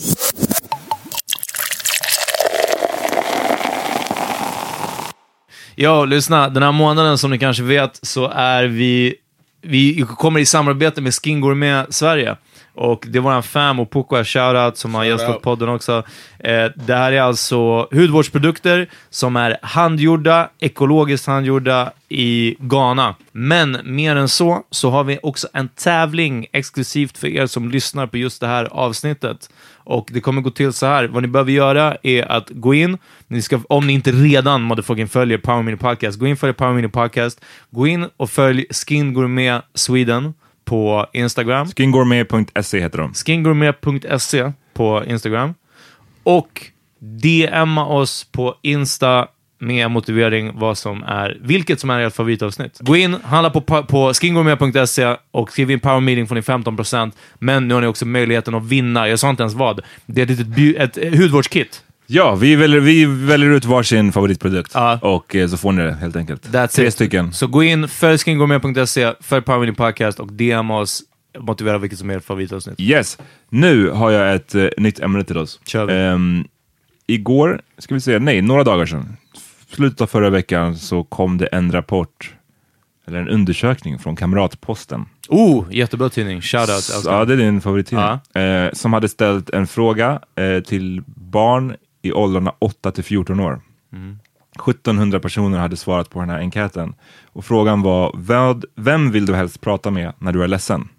Ja, lyssna. Den här månaden, som ni kanske vet, så är vi... Vi kommer i samarbete med Skin Gourmet Sverige. Och det var en fam och Poco shoutout som har gästat podden också. Eh, det här är alltså hudvårdsprodukter som är handgjorda, ekologiskt handgjorda i Ghana. Men mer än så, så har vi också en tävling exklusivt för er som lyssnar på just det här avsnittet. Och det kommer gå till så här. Vad ni behöver göra är att gå in. Ni ska, om ni inte redan motherfucking följer Power Mini Podcast, gå in och följ Power Mini Podcast. Gå in och följ Skin Gourmet Sweden på Instagram. skin gourmet punkt se heter de. skin gourmet punkt se på Instagram. Och D M:a oss på Insta med motivering vad som är, vilket som är ert favoritavsnitt. Gå in, handla på, på skin gourmet punkt se och skriv in Power Meeting får ni femton procent. Men nu har ni också möjligheten att vinna. Jag sa inte ens vad. Det är ett, litet, ett hudvårdskit. Ja, vi väljer, vi väljer ut varsin favoritprodukt. Ja. Och eh, så får ni det helt enkelt. That's Tre it. stycken. Så gå in, följ skin gourmet punkt se, följ Power Meeting Podcast och D M oss, motivera vilket som är ert favoritavsnitt. Yes. Nu har jag ett uh, nytt ämne till oss. Kör vi. Um, igår, ska vi säga, nej, några dagar sedan, slutet av förra veckan, så kom det en rapport, eller en undersökning från Kamratposten. Oh, jättebra tidning. Shoutout. S- Ja, det är din favorittidning. Ja. Eh, som hade ställt en fråga eh, till barn i åldrarna åtta till fjorton år. Mm. sjuttonhundra personer hade svarat på den här enkäten. Och frågan var, vad, vem vill du helst prata med när du är ledsen?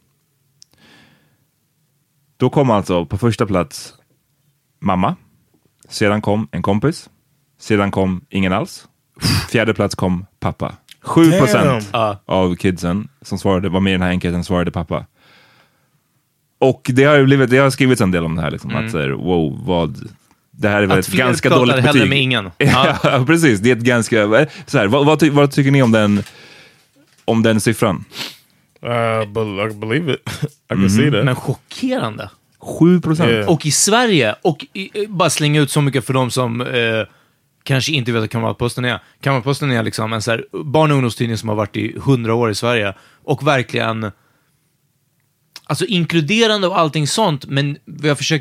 Då kom alltså på första plats mamma. Sedan kom en kompis. Sedan kom ingen alls. Fjärde plats kom pappa. sju procent Ja. av kidsen som svarade, var med i den här enkäten svarade pappa. Och det har ju blivit, det har skrivits en del om det här liksom, att säga, wow, vad det här är väl Att ett fler ganska pratar dåligt hellre betyg. med ingen. Ja, precis, det är ett ganska så här, vad, vad, ty, vad tycker ni om den om den siffran? Uh, but I can believe it. I can see that. Men chockerande. sju procent. Yeah. Och i Sverige, och i, bara slänga ut så mycket för de som eh, kanske inte vet vad Kamratposten är. Kamratposten är liksom en så här barn- och ungdomstidning som har varit i hundra år i Sverige. Och verkligen, alltså inkluderande och allting sånt, men jag försöker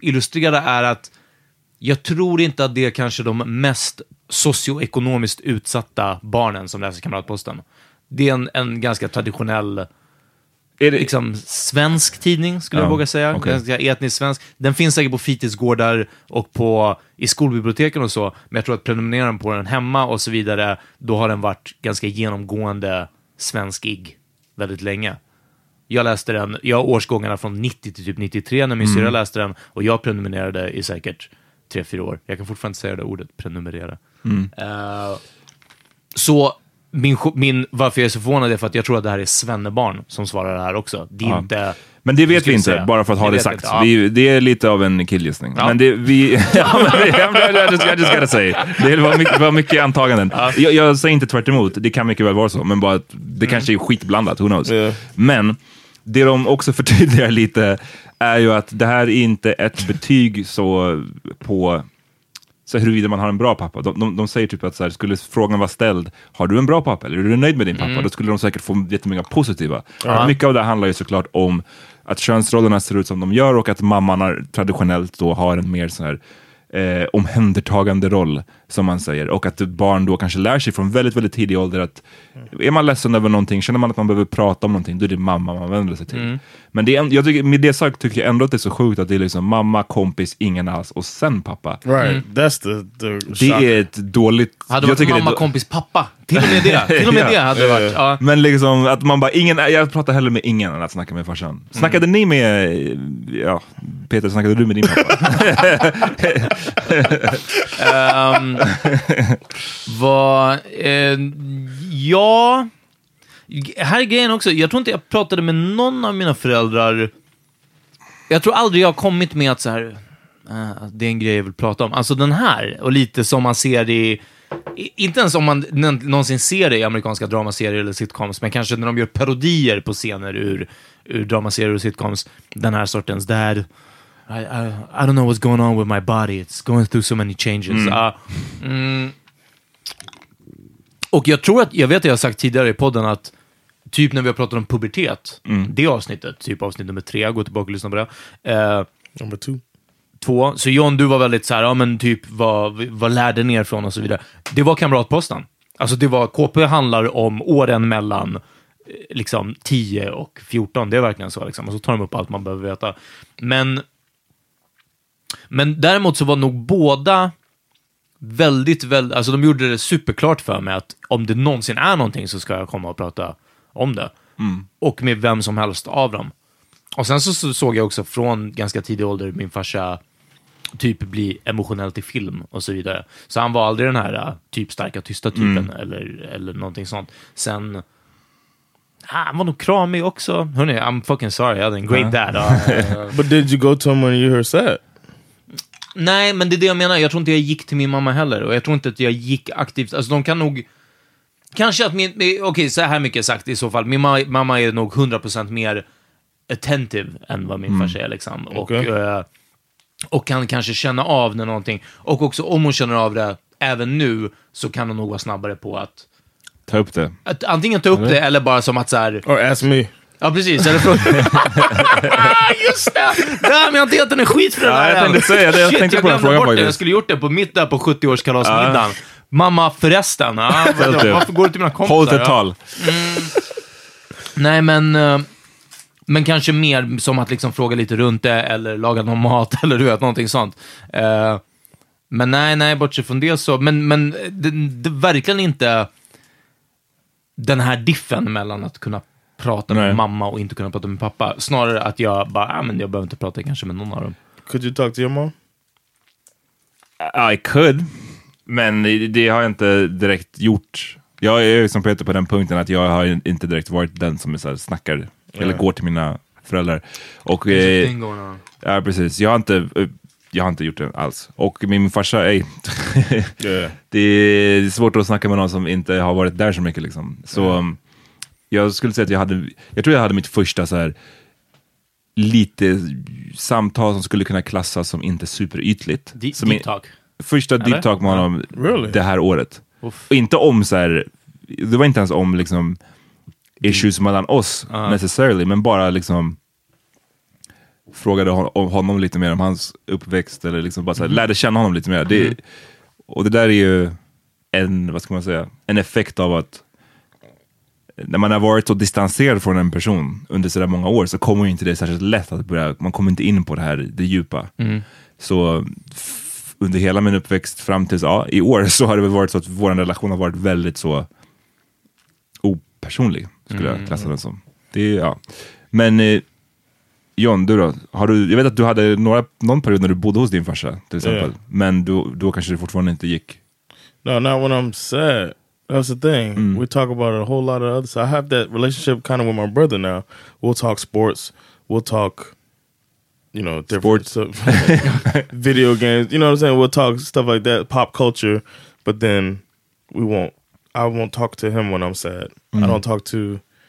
illustrera är att jag tror inte att det är kanske de mest socioekonomiskt utsatta barnen som läser Kamratposten. Det är en, en ganska traditionell är det liksom svensk tidning, skulle ja, jag våga säga. Okay. Ganska etnisk svensk. Den finns säkert på fritidsgårdar och på, i skolbiblioteken och så. Men jag tror att prenumererar på den hemma och så vidare, då har den varit ganska genomgående svenskig väldigt länge. Jag läste den, jag har årsgångarna från nittio till typ nittiotre när min mm. syra läste den, och jag prenumererade i säkert tre, fyra år. Jag kan fortfarande säga det ordet, prenumerera. Mm. Uh, så min, min, varför jag är så förvånad är för att jag tror att det här är svennebarn som svarar det här också. Det är ja. inte... Men det vet vi inte, säga. bara för att ha det, det sagt. Ja. Vi, det är lite av en killgissning. Ja. Men det, vi... ja, men det, jag just, jag just gotta say. Det var mycket, var mycket antaganden. Ja. Jag, jag säger inte tvärt emot. Det kan mycket väl vara så. Men bara att det mm. kanske är skitblandat, who knows. Yeah. Men det de också förtydligar lite är ju att det här är inte ett betyg så på... Så huruvida man har en bra pappa. De, de, de säger typ att så här, skulle frågan vara ställd, har du en bra pappa eller är du nöjd med din pappa? Mm. Då skulle de säkert få jättemånga positiva. Uh-huh. Mycket av det handlar ju såklart om att könsrollerna ser ut som de gör och att mamman traditionellt då har en mer så här eh, omhändertagande roll, som man säger. Och att barn då kanske lär sig från väldigt, väldigt tidig ålder att är man ledsen över någonting, känner man att man behöver prata om någonting, då är det mamma man vänder sig till. Mm. Men det är, jag tycker, med det sagt tycker jag ändå att det är så sjukt att det är liksom mamma, kompis, ingen alls och sen pappa. Right, mm. that's the, the det shock. Är ett dåligt... Hade det varit mamma, det... kompis, pappa? Till och med det. Till och med det hade det varit. Ja. Men liksom att man bara, ingen, jag pratar hellre med ingen än att snacka med farsan. Snackade mm. ni med, ja, Peter, snackade du med din pappa? um, vad, eh, ja, här är grejen också. Jag tror inte jag pratade med någon av mina föräldrar. Jag tror aldrig jag har kommit med att så här, uh, det är en grej jag vill prata om. Alltså den här, och lite som man ser i, inte ens om man någonsin ser det i amerikanska dramaserier eller sitcoms, men kanske när de gör parodier på scener ur, ur dramaserier och sitcoms, den här sortens där I, I, I don't know what's going on with my body, it's going through so many changes. Mm. Uh, mm. Och jag tror att, jag vet att jag har sagt tidigare i podden att typ när vi har pratat om pubertet, mm. det avsnittet, typ avsnitt nummer tre, gå tillbaka och lyssna på det. Uh, number two. Två. Så John, du var väldigt så här, ja men typ vad, vad lärde ner från och så vidare. Det var Kamratposten. Alltså det var, K P handlar om åren mellan liksom tio och fjorton. Det är verkligen så liksom. Och så tar de upp allt man behöver veta. Men men däremot så var nog båda väldigt, väldigt, alltså de gjorde det superklart för mig att om det någonsin är någonting så ska jag komma och prata om det. Mm. Och med vem som helst av dem. Och sen så, så såg jag också från ganska tidig ålder min farsa typ bli emotionellt i film och så vidare. Så han var aldrig den här typ starka, tysta typen mm. eller, eller någonting sånt. Sen ah, han var nog kramig också. Hörrni, I'm fucking sorry, I hade en great dad. Uh, But did you go to him when you were sad? Nej, men det är det jag menar. Jag tror inte jag gick till min mamma heller. Och jag tror inte att jag gick aktivt. Alltså de kan nog... Kanske att min... Okej, okay, så här mycket sagt i så fall. Min ma- mamma är nog hundra procent mer attentive än vad min mm. farsa är liksom. Och, okay. uh, och kan kanske känna av när någonting... Och också om hon känner av det även nu så kan hon nog vara snabbare på att... Ta upp det. Att antingen ta upp eller? det eller bara som att så här... Or ask me. Ja, precis. Eller fråga... Just det! Ja, men jag har inte gett den en skit för det ja, där. Jag tänkte säga det. Jag Shit, tänkte jag på den frågan faktiskt. Jag skulle gjort det på mitt där på sjuttio-årskalasmiddagen. Ja. Mamma, förresten. Ja, varför går du till mina kompisar? Håll ett tal. Mm. Nej, men... Men kanske mer som att liksom fråga lite runt det eller laga någon mat eller du vet, någonting sånt. Uh, men nej, nej, bortsett från det så... Men, men det, det verkligen inte den här diffen mellan att kunna prata med Nej. mamma och inte kunna prata med pappa. Snarare att jag bara, ah, men jag behöver inte prata kanske med någon av dem. Could you talk to your mom? I could. Men det har jag inte direkt gjort. Jag är som Peter på den punkten att jag har inte direkt varit den som är så här, snackar yeah. eller går till mina föräldrar. Och eh, ja, precis. Jag har inte jag har inte gjort det alls. Och min farsa, ej. yeah. Det är svårt att snacka med någon som inte har varit där så mycket liksom. Så yeah. jag skulle säga att jag hade, jag tror jag hade mitt första så här lite samtal som skulle kunna klassas som inte superytligt. D- som deep talk. Första deep talk med honom really? det här året. Uff. Och inte om så här, det var inte ens om liksom issues mellan oss uh-huh. necessarily, men bara liksom frågade hon, honom lite mer om hans uppväxt eller liksom bara så här, Mm. lärde känna honom lite mer. Det, Mm. Och det där är ju en, vad ska man säga, en effekt av att när man har varit så distanserad från en person under så där många år så kommer ju inte det särskilt lätt att börja, man kommer inte in på det här, det djupa. Mm. Så f- under hela min uppväxt fram tills, ja, i år så har det väl varit så att vår relation har varit väldigt så opersonlig, skulle Mm. jag klassa den som. Det är, ja. Men eh, John, du då? Har du, jag vet att du hade några, någon period när du bodde hos din farsa, till exempel. Yeah. Men då, då kanske det fortfarande inte gick. No, not when I'm sad. That's the thing. Mm. We talk about a whole lot of other. So I have that relationship kind of with my brother now. We'll talk sports. We'll talk, you know, different Sports. stuff, video games. You know what I'm saying? We'll talk stuff like that, pop culture. But then we won't. I won't talk to him when I'm sad. I Mm. don't talk to.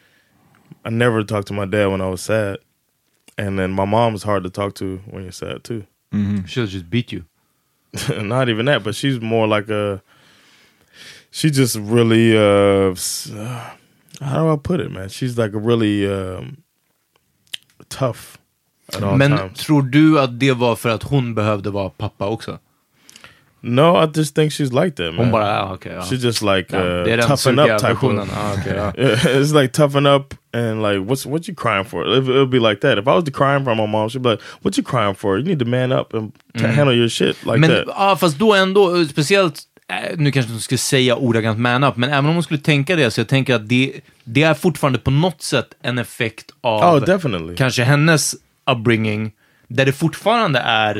I never talked to my dad when I was sad. And then my mom's hard to talk to when you're sad too. Mm-hmm. She'll just beat you. Not even that, but she's more like a. She just really. Uh, s- uh, how do I put it, man? She's like a really um, tough at all Men times. tror du att det var för att hon behövde vara pappa också? No, I just think she's like that, man. Hon bara, ah, okay, ja. She's just like Ja, uh, det är den toughen sugiga up type versionen. of. Ah, okay, ja. It's like toughen up and like what's what you crying for? It, it'll be like that. If I was to crying for my mom, she'd be like, "What you crying for? You need to man up and t- Mm. handle your shit like Men that." ja, fast då ändå, speciellt, eh, nu kanske hon skulle säga ordagrant man up, men även om hon skulle tänka det, så jag tänker att det, det är fortfarande på något sätt en effekt av Oh, definitely. kanske hennes upbringing, där det fortfarande är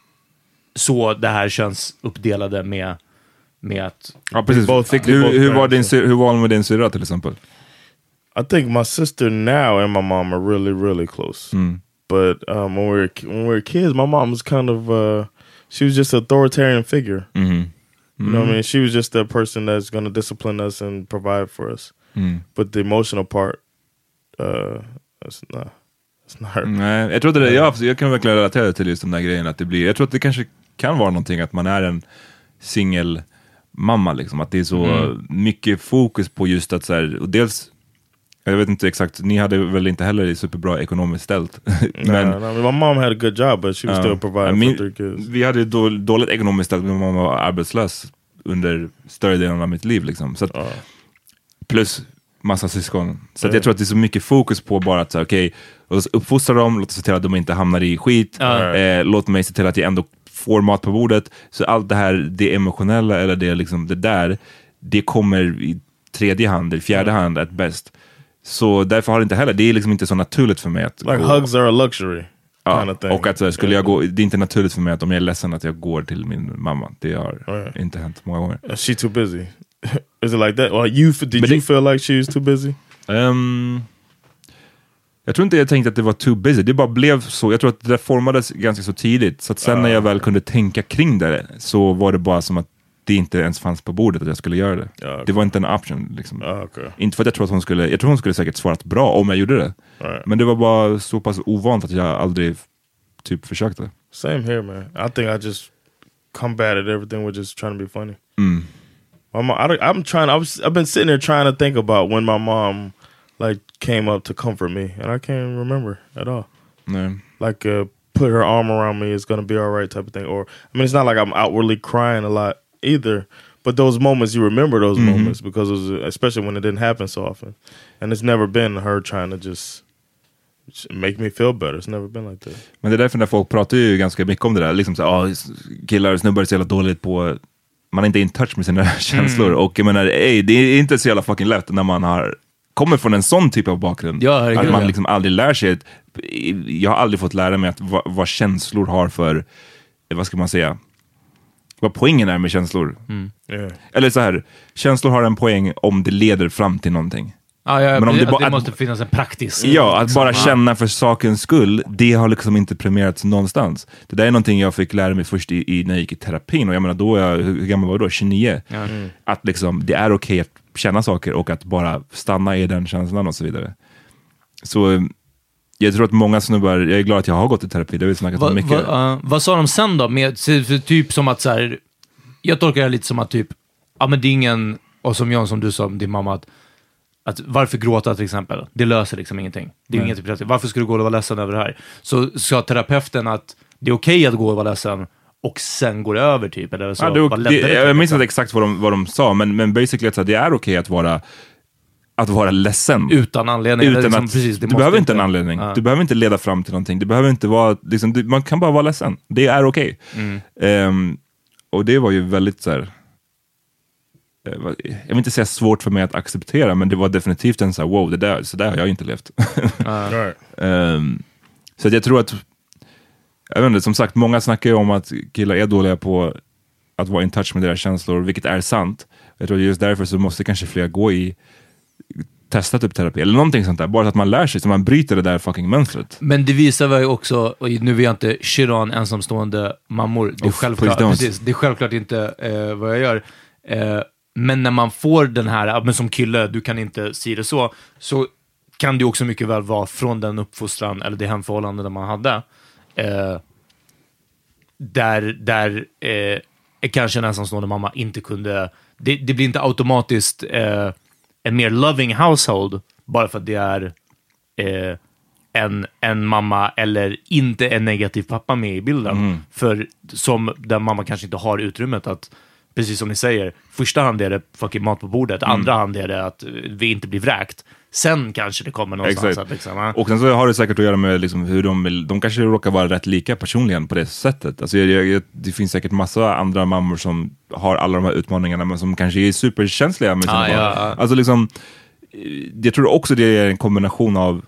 så det här känns uppdelade med, med att... Ja, precis. Both- Fick, both hur, hur, var parents. din, sy- hur var hon med din syrra till exempel? I think my sister now and my mom are really, really close. Mm. But um, when we were when we were kids, my mom was kind of uh, she was just an authoritarian figure. Mm. You know what I mean? She was just that person that's going to discipline us and provide for us. Mm. But the emotional part, uh, that's not, that's not her. Nej, jag tror att det, jag, jag kan verkligen relatera till just de där grejerna. Att det blir, jag tror att det kanske kan vara någonting att man är en singel mamma liksom. Att det är så Mm. mycket fokus på just att så här, och dels, jag vet inte exakt, ni hade väl inte heller superbra ekonomiskt ställt. Men Nah, nah, I mean, my mom had a good job, but she was Ja. still providing Min- for three kids. Vi hade ju då, dåligt ekonomiskt ställt, min mamma var arbetslös under större delen av mitt liv liksom. Så att, Ja. plus massa syskon. Så att Ja. jag tror att det är så mycket fokus på bara att säga, okej, låt oss uppfostra dem, låt oss se till att de inte hamnar i skit, Ja. eh, låt mig se till att jag ändå får mat på bordet. Så allt det här, det emotionella eller det, liksom, det där, det kommer i tredje hand, eller fjärde hand at bäst. Så därför har det inte heller, det är liksom inte så naturligt för mig att Like gå. hugs are a luxury Ja, kind of thing. och att så här, skulle jag gå, det är inte naturligt för mig att om jag är ledsen att jag går till min mamma. Det har Right. inte hänt många gånger. Is she too busy? Is it like that? Well, you f- did But you it- feel like she was too busy? Um, jag tror inte jag tänkte att det var too busy. Det bara blev så. Jag tror att det där formades ganska så tidigt. Så att sen när jag väl kunde tänka kring det så var det bara som att det inte ens fanns på bordet att jag skulle göra det. Ja, okej. Det var inte en option. Liksom. Ah, okay. Inte för att jag tror att hon skulle, jag tror hon skulle säkert svarat bra om jag gjorde det. Right. Men det var bara så pass ovant att jag aldrig typ försökte. Same here, man. I think I just combated everything with just trying to be funny. Mm. My mom, I, don't- I'm trying. I was. I've been sitting there trying to think about when my mom like came up to comfort me, and I can't remember at all. Nej. Like uh, put her arm around me, it's gonna be all right, type of thing. Or I mean, it's not like I'm outwardly crying a lot either. But those moments, you remember those Mhm. moments because it was, especially when it didn't happen so often. And it's never been her trying to just make me feel better. It's never been like that. Men det är därför när folk pratar ju ganska mycket om det där. Liksom så, ah, killar och snubbar är så jävla dåligt på, man är inte in touch med sina känslor. Och jag menar, ey, det är inte så jävla fucking lätt när man har kommer från en sån typ av bakgrund. Ja, herregud, att man ja. liksom aldrig lär sig att, jag har aldrig fått lära mig att vad, vad känslor har för, vad ska man säga, vad poängen är med känslor. Yeah. Eller så här, känslor har en poäng om det leder fram till någonting. Ja, ja, Men om det, det att bara- det att- måste finnas en praktisk... Ja, att bara Ja. känna för sakens skull, det har liksom inte premierats någonstans. Det där är någonting jag fick lära mig först i, i när jag gick i terapin, och jag menar då, jag, hur gammal var jag då? tjugonio. Ja. Mm. Att liksom, det är okej att känna saker och att bara stanna i den känslan och så vidare. Så jag tror att många snubbar, jag är glad att jag har gått i terapi, det har vi snackat Va, om mycket. va, uh, vad sa de sen då? Med, så- för typ som att så här, jag tolkar det lite som att typ, ja men det är ingen, och som John, som du sa om din mamma, att att varför gråta till exempel? Det löser liksom ingenting. Det är mm. inget typ, varför ska du gå och vara ledsen över det här? Så sa terapeuten att det är okej okay att gå och vara ledsen och sen går det över typ. Eller så, ja, det, det, det, jag minns inte exakt vad de, vad de sa, men, men basically att det är okej okay att vara att vara ledsen. Utan anledning. Utan liksom, att, precis, du behöver inte en anledning. Ja. Du behöver inte leda fram till någonting. Du behöver inte vara, liksom, du, man kan bara vara ledsen. Det är okej. Okay. Mm. Um, och det var ju väldigt så här, jag vill inte säga svårt för mig att acceptera, men det var definitivt en så här, wow, det där, så där har jag inte levt. uh. um, så att jag tror att jag vet inte, som sagt, många snackar ju om att killar är dåliga på att vara in touch med deras känslor, vilket är sant. Jag tror just därför så måste kanske fler gå i testa typ terapi eller någonting sånt där, bara så att man lär sig, så man bryter det där fucking mönstret. Men det visar väl också, och nu vill jag inte shit on ensamstående mammor, det är, oh, självklart, precis, det är självklart inte eh, vad jag gör. Eh, men när man får den här, men som kille, du kan inte säga det så, så kan det också mycket väl vara från den uppfostran eller det hemförhållande där man hade. Eh, där där eh, kanske en ensamstående mamma inte kunde, det, det blir inte automatiskt eh, en mer loving household bara för att det är eh, en, en mamma eller inte en negativ pappa med i bilden. Mm. För som den mamma kanske inte har utrymmet att, precis som ni säger, första hand är det fucking mat på bordet, mm. andra hand är det att vi inte blir vräkt. Sen kanske det kommer någonstans. Att liksom, och sen så har det säkert att göra med liksom hur de, de kanske råkar vara rätt lika personligen på det sättet. Alltså jag, jag, det finns säkert massa andra mammor som har alla de här utmaningarna, men som kanske är superkänsliga med sina ah, barn. Ja. Alltså liksom, jag tror också det är en kombination av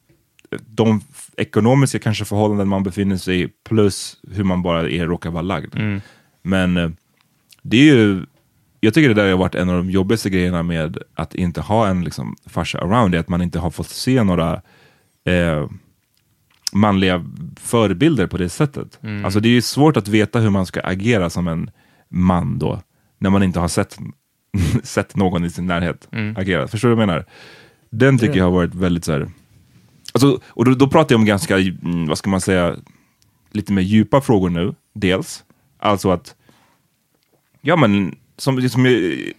de ekonomiska kanske förhållanden man befinner sig i plus hur man bara är, råkar vara lagd. Mm. Men det är ju, jag tycker det där har varit en av de jobbigaste grejerna med att inte ha en liksom farsa around, det, att man inte har fått se några eh, manliga förebilder på det sättet. Mm. Alltså det är ju svårt att veta hur man ska agera som en man då, när man inte har sett, sett någon i sin närhet mm. agera. Förstår du vad jag menar? Den tycker mm. jag har varit väldigt så här, alltså, och då, då pratar jag om ganska, vad ska man säga, lite mer djupa frågor nu, dels. Alltså att ja men som, som till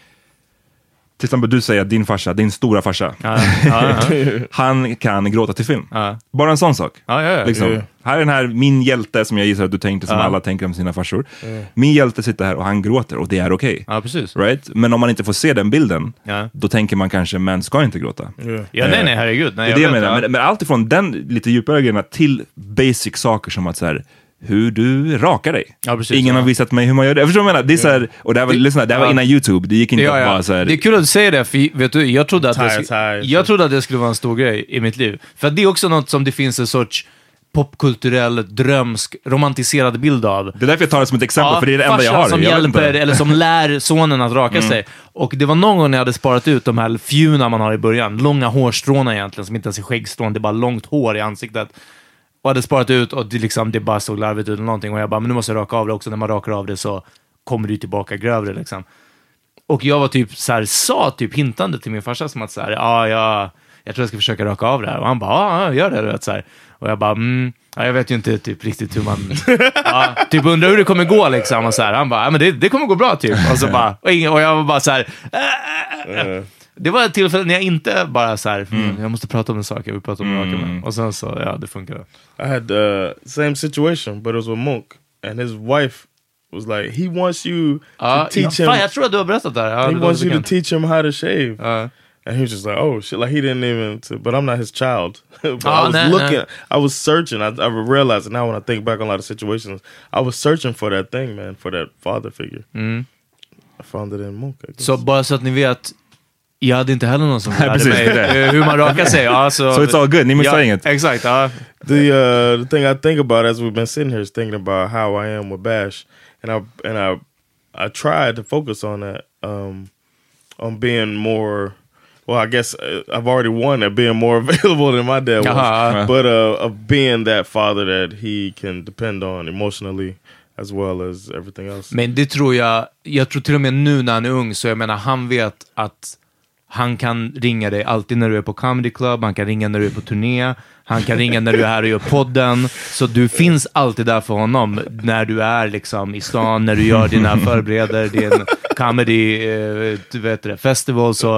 exempel du säger att din farsa, din stora farsa, ja, ja, ja. han kan gråta till film. Ja. Bara en sån sak. Ja, ja, ja. Liksom. Ja, ja. Här är den här, min hjälte som jag gissar att du tänkte, som ja. alla tänker om sina farsor. Ja. Min hjälte sitter här och han gråter och det är okej. Okay. Ja, precis. Right? Men om man inte får se den bilden, ja. då tänker man kanske, män ska inte gråta. Ja, ja nej, nej, herregud. Nej, det är det jag menar. Men, men allt ifrån den lite djupare grejerna till basic saker som att så här, hur du rakar dig. Ja, precis, Ingen ja. har visat mig hur man gör det. Jag förstår vad jag menar. Det är så här, och det här var, det, lyssna, det här var innan YouTube. Det gick inte ja, ja. bara så här. Det är kul att du säger det, för vet du, jag trodde att tire, det, tire, jag trodde att det skulle vara en stor grej i mitt liv. För att det är också något som det finns en sorts popkulturell, drömsk, romantiserad bild av. Det är därför jag tar det som ett exempel, ja, för det är det enda jag har. Som jag hjälper, eller som lär sonen att raka mm. sig. Och det var någon gång när jag hade sparat ut de här fjuna man har i början. Långa hårstråna egentligen, som inte ens är skäggstrån. Det är bara långt hår i ansiktet. Och hade sparat ut och det, liksom, det bara såg larvigt ut eller någonting. Och jag bara, men nu måste jag raka av det också. När man rakar av det så kommer det ju tillbaka grövre liksom. Och jag var typ så här, sa typ hintande till min farsa som att så här, ja, ja, jag tror jag ska försöka raka av det här. Och han bara, ja, gör det, du vet, så här. Och jag bara, mm, ja, jag vet ju inte typ riktigt hur man, ja, typ undrar hur det kommer gå liksom. Och så här, han bara, ja, men det, det kommer gå bra typ. Och så bara, och, och jag var bara så här, äh, äh, äh. Det var ett tillfälle när jag inte bara så här, mm. jag måste prata om en sak, jag vill prata om en sak. Mm. Och sen så, ja, det funkar. I had uh, same situation, but it was with Monk. And his wife was like, he wants you uh, to teach ja, him. Fan, jag tror att du har berättat det här. Ja, he det wants you to teach him how to shave. Uh. And he was just like, oh shit, like he didn't even, to, but I'm not his child. But oh, I was nah, looking, nah. I was searching, I, I realized it now when I think back on a lot of situations, I was searching for that thing, man, for that father figure. Mm. I found it in Monk. Så bara så att ni vet, jag hade inte heller någon som lärde mig hur man rakar sig. Ja, så, so it's all good, ni missar ja, inget. Exakt, ja. The, uh, the thing I think about as we've been sitting here is thinking about how I am with Bash. And I, and I, I tried to focus on that, um, on being more... Well, I guess uh, I've already won at being more available than my dad was. Uh-huh. But uh, of being that father that he can depend on emotionally as well as everything else. Men det tror jag, jag tror till och med nu när han är ung, så jag menar, han vet att han kan ringa dig alltid när du är på comedy club, han kan ringa när du är på turné, han kan ringa när du är här och gör podden, så du finns alltid där för honom när du är liksom i stan, när du gör dina förbereder din comedy, eh, du vet det, festival, så,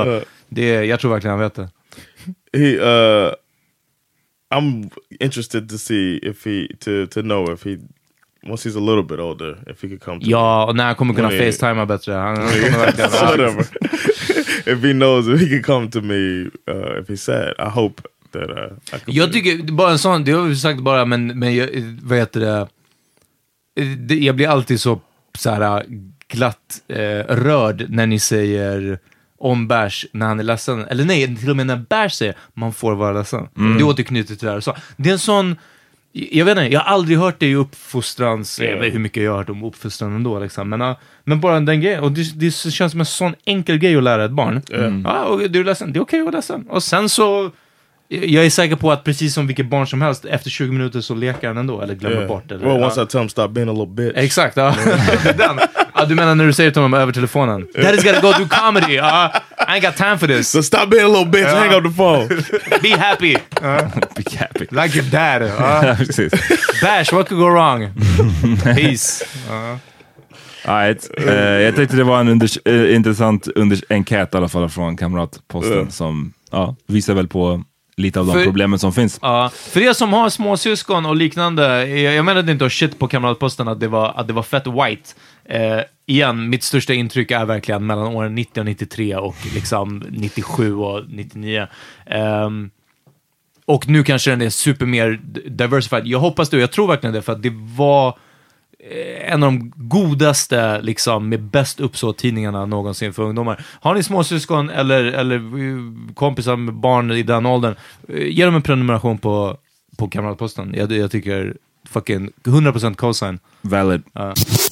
Det, jag tror verkligen han vet det. He, uh, I'm interested to see if he, to, to know if he, once he's a little bit older, if he could come to Ja, och när han kommer kunna me. facetima bättre. Han, han kommer verkligen... Whatever. If he knows if he can come to me, uh, if he's sad, I hope that uh, I can. Jag tycker, bara en sån, det har vi sagt bara, men, men jag, vad heter det? det? Jag blir alltid så, så här glatt eh, rörd när ni säger om Bärs när han är ledsen. Eller nej, till och med när Bärs säger man får vara ledsen. Mm. Det återknyter till det här. Så, det är en sån, jag vet inte, jag har aldrig hört det i uppfostrans, yeah. Jag vet hur mycket jag har hört om uppfostran ändå liksom. Men, uh, men bara den grejen, och det, det känns som en sån enkel grej att lära ett barn. Mm. Ja, och du är ledsen, det är okej att vara ledsen. Och sen så, jag är säker på att precis som vilket barn som helst, efter tjugo minuter så leker han ändå, eller glömmer yeah. bort. Eller, well, once ja. I tell him stop being a little bitch. Exakt, ja. Den. Ja, du menar när du säger till honom över telefonen, Daddy's gotta go do comedy, uh, I ain't got time for this. So stop being a little bitch, uh, hang up the phone. Be happy. Uh, Be happy. Like your dad. Uh. Bash, what could go wrong? Peace. Uh. Right. Uh, jag tyckte det var en unders- uh, intressant unders- enkät i alla fall från Kamratposten uh. som uh, visar väl på lite av de för, problemen som finns. Ja, för er som har småsyskon och liknande, jag, jag menade inte att shit på Kamratposten att det var, att det var fett white. Eh, igen, mitt största intryck är verkligen mellan åren nittio och nittiotre och liksom nittiosju och nittionio. Eh, och nu kanske den är super mer diversified. Jag hoppas det, och jag tror verkligen det, för att det var en av de godaste, liksom, med bäst uppsåt tidningarna någonsin för ungdomar. Har ni småsyskon eller, eller kompisar med barn i den åldern, ge dem en prenumeration på, på Kamratposten. Jag, jag tycker fucking hundra procent cosign. Valid. Uh.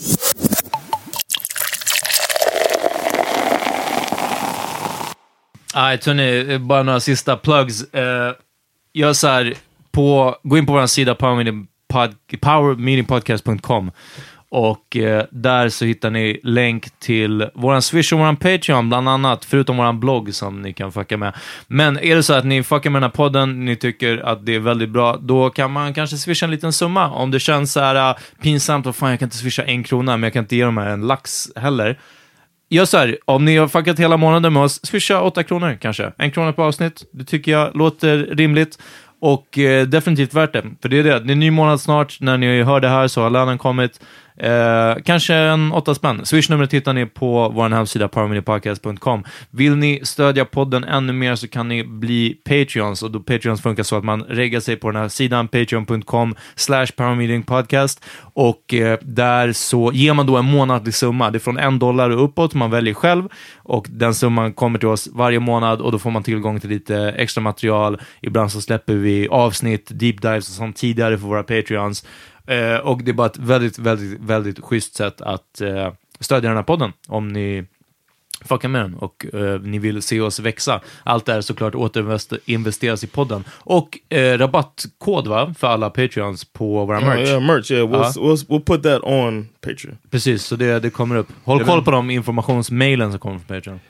Nej, Tony, bara några sista plugs. Uh, jag så här, på, gå in på vår sida Power Meeting Pod, power meeting podcast dot com och eh, där så hittar ni länk till våran Swish och våran Patreon bland annat, förutom våran blogg som ni kan fucka med. Men är det så att ni fuckar med den här podden, ni tycker att det är väldigt bra, då kan man kanske swisha en liten summa. Om det känns så här uh, pinsamt, och fan jag kan inte swisha en krona, men jag kan inte ge dem här en lax heller. Gör så här, om ni har fuckat hela månaden med oss, swisha åtta kronor kanske. En krona på avsnitt, det tycker jag låter rimligt. Och eh, definitivt värt det. För det är det, det är en ny månad snart. När ni hör det här så har lönen kommit. Eh, kanske en åtta spänn. Swish-numret hittar ni på vår hemsida power meeting podcast dot com. Vill ni stödja podden ännu mer så kan ni bli Patreons. Och då Patreons funkar så att man reggar sig på den här sidan patreon dot com slash power meeting podcast. Och eh, där så ger man då en månadlig summa. Det är från en dollar och uppåt, man väljer själv. Och den summan kommer till oss varje månad. Och då får man tillgång till lite extra material. Ibland så släpper vi avsnitt, deep dives och sånt tidigare för våra Patreons. Uh, och det är bara ett väldigt, väldigt, väldigt schysst sätt att uh, stödja den här podden om ni fuckar med den och uh, ni vill se oss växa. Allt är såklart återinvesteras i podden. Och uh, rabattkod, va, för alla Patreons på våra merch. Yeah, yeah, merch, yeah. We'll, uh. we'll, we'll put that on Patreon. Precis, så det, det kommer upp. Håll det koll på de informationsmailen som kommer från Patreon.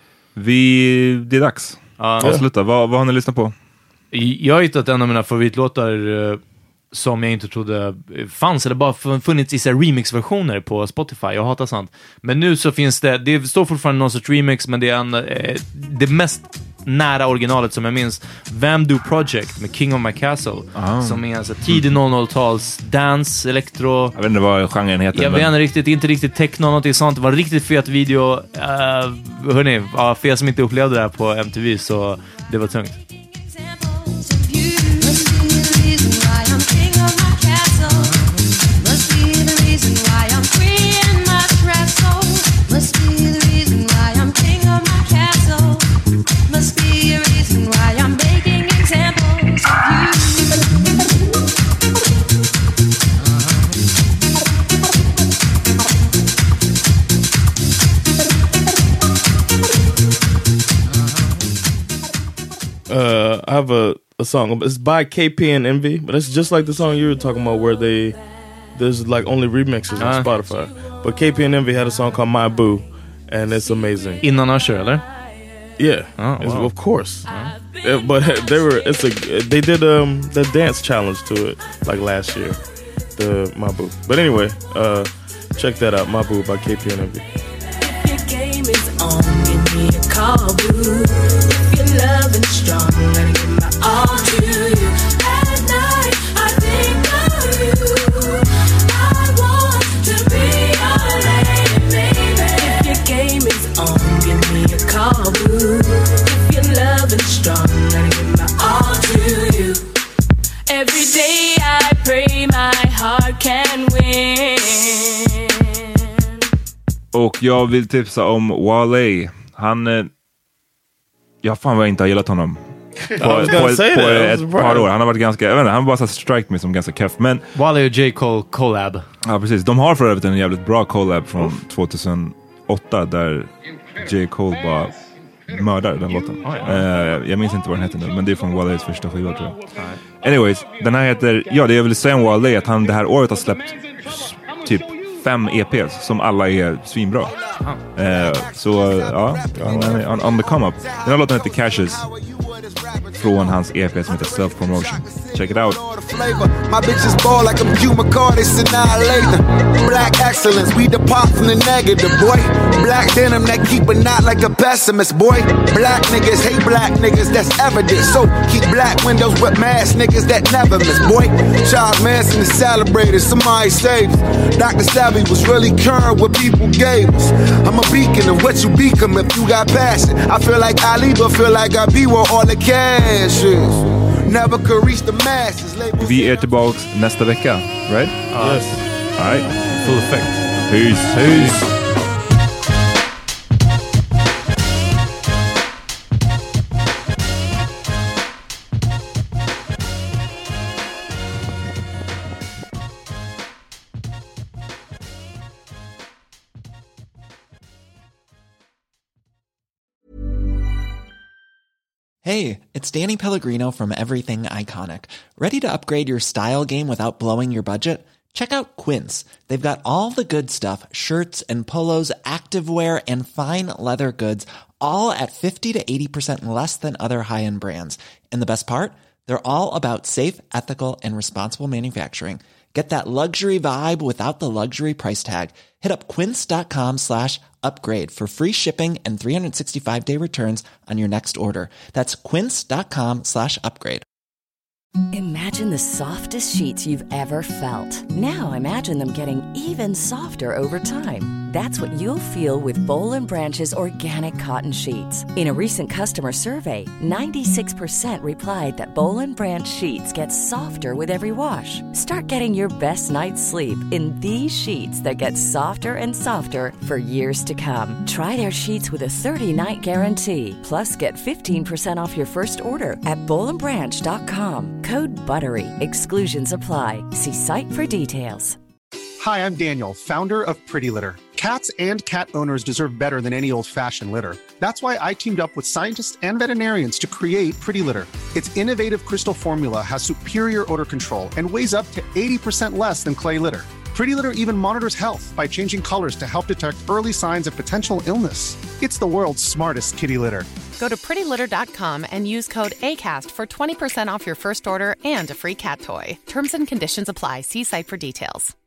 Vi, det är dags. Uh. Avsluta, vad, vad har ni lyssnat på? Jag har hittat en av mina favoritlåtar uh, som jag inte trodde fanns, eller bara funnits i så remix-versioner på Spotify. Jag hatar sånt. Men nu så finns det, det står fortfarande någon sorts remix, men det är en, eh, det mest nära originalet som jag minns, Vamdo Project med King of My Castle, ah. som är en så tidig noll noll-tals dance, elektro. Jag vet inte vad genren heter. Jag men... vet inte riktigt, inte riktigt techno, något sånt. Det var en riktigt fet video. Uh, hörni, uh, för er som inte upplevde det här på M T V, så det var tungt. Uh, I have a, a song. It's by K P and Envy, but it's just like the song you were talking about, where they there's like only remixes on uh. Spotify. But K P and Envy had a song called My Boo, and it's amazing. Innan Usher, eller? Yeah, oh, wow. Of course. Uh. It, but they were it's a they did um the dance challenge to it like last year, the My Boo. But anyway, uh, check that out, My Boo by K P and Envy. Your game is on, give me a call, boo. you're loving strong, gotta give my all to you. At night, I think of you. I want to be your lady, baby. If your game is on, give me a call, boo. If you're loving strong, gotta give my all to you. Every day I pray my heart can win. Och jag vill tipsa om Wale. Han... Eh, ja, fan vad jag inte har gillat honom. På, på, på, ett, på ett par år. Han har varit ganska... Jag vet inte, han bara så strike me som ganska keff. Men... Wale och J. Cole collab. Ja, precis. De har för övrigt en jävligt bra collab från tjugohundraåtta där J. Cole bara mördar den låten. Oh, ja. uh, Jag minns inte vad den heter nu, men det är från Wales första skiva, tror jag. Right. Anyways, den här heter... Ja, det jag vill säga om Wale är att han det här året har släppt typ fem E P:s som alla är svinbra. Uh, så uh, ja, on, on, on the come up. Den här låten heter Cashes från hans E P som heter Self Promotion. Check it out. My bitches ball like I'm Hugh McCarty's annihilator. Black excellence, we depart from the negative, boy. Black denim that keep a knot like a pessimist, boy. Black niggas hate black niggas, that's evident. So keep black windows with mask niggas that never miss, boy. Charles Manson is celebrated, somebody saves. Doctor Savvy was really current what people gave us. I'm a beacon of what you become if you got passion. I feel like Ali, but feel like I be where all the cash is. Never could reach the masses. Vi är tillbaks nästa vecka, right? Uh, yes. All right. Full effect. Peace. Peace. Hey, it's Danny Pellegrino from Everything Iconic. Ready to upgrade your style game without blowing your budget? Check out Quince. They've got all the good stuff, shirts and polos, activewear, and fine leather goods, all at fifty to eighty percent less than other high-end brands. And the best part? They're all about safe, ethical, and responsible manufacturing. Get that luxury vibe without the luxury price tag. Hit up quince.com slash upgrade for free shipping and three sixty-five day returns on your next order. That's quince.com slash upgrade. Imagine the softest sheets you've ever felt. Now imagine them getting even softer over time. That's what you'll feel with Boll and Branch's organic cotton sheets. In a recent customer survey, ninety-six percent replied that Boll and Branch sheets get softer with every wash. Start getting your best night's sleep in these sheets that get softer and softer for years to come. Try their sheets with a thirty night guarantee. Plus, get fifteen percent off your first order at boll and branch dot com. Code BUTTERY. Exclusions apply. See site for details. Hi, I'm Daniel, founder of Pretty Litter. Cats and cat owners deserve better than any old-fashioned litter. That's why I teamed up with scientists and veterinarians to create Pretty Litter. Its innovative crystal formula has superior odor control and weighs up to eighty percent less than clay litter. Pretty Litter even monitors health by changing colors to help detect early signs of potential illness. It's the world's smartest kitty litter. Go to pretty litter dot com and use code ACAST for twenty percent off your first order and a free cat toy. Terms and conditions apply. See site for details.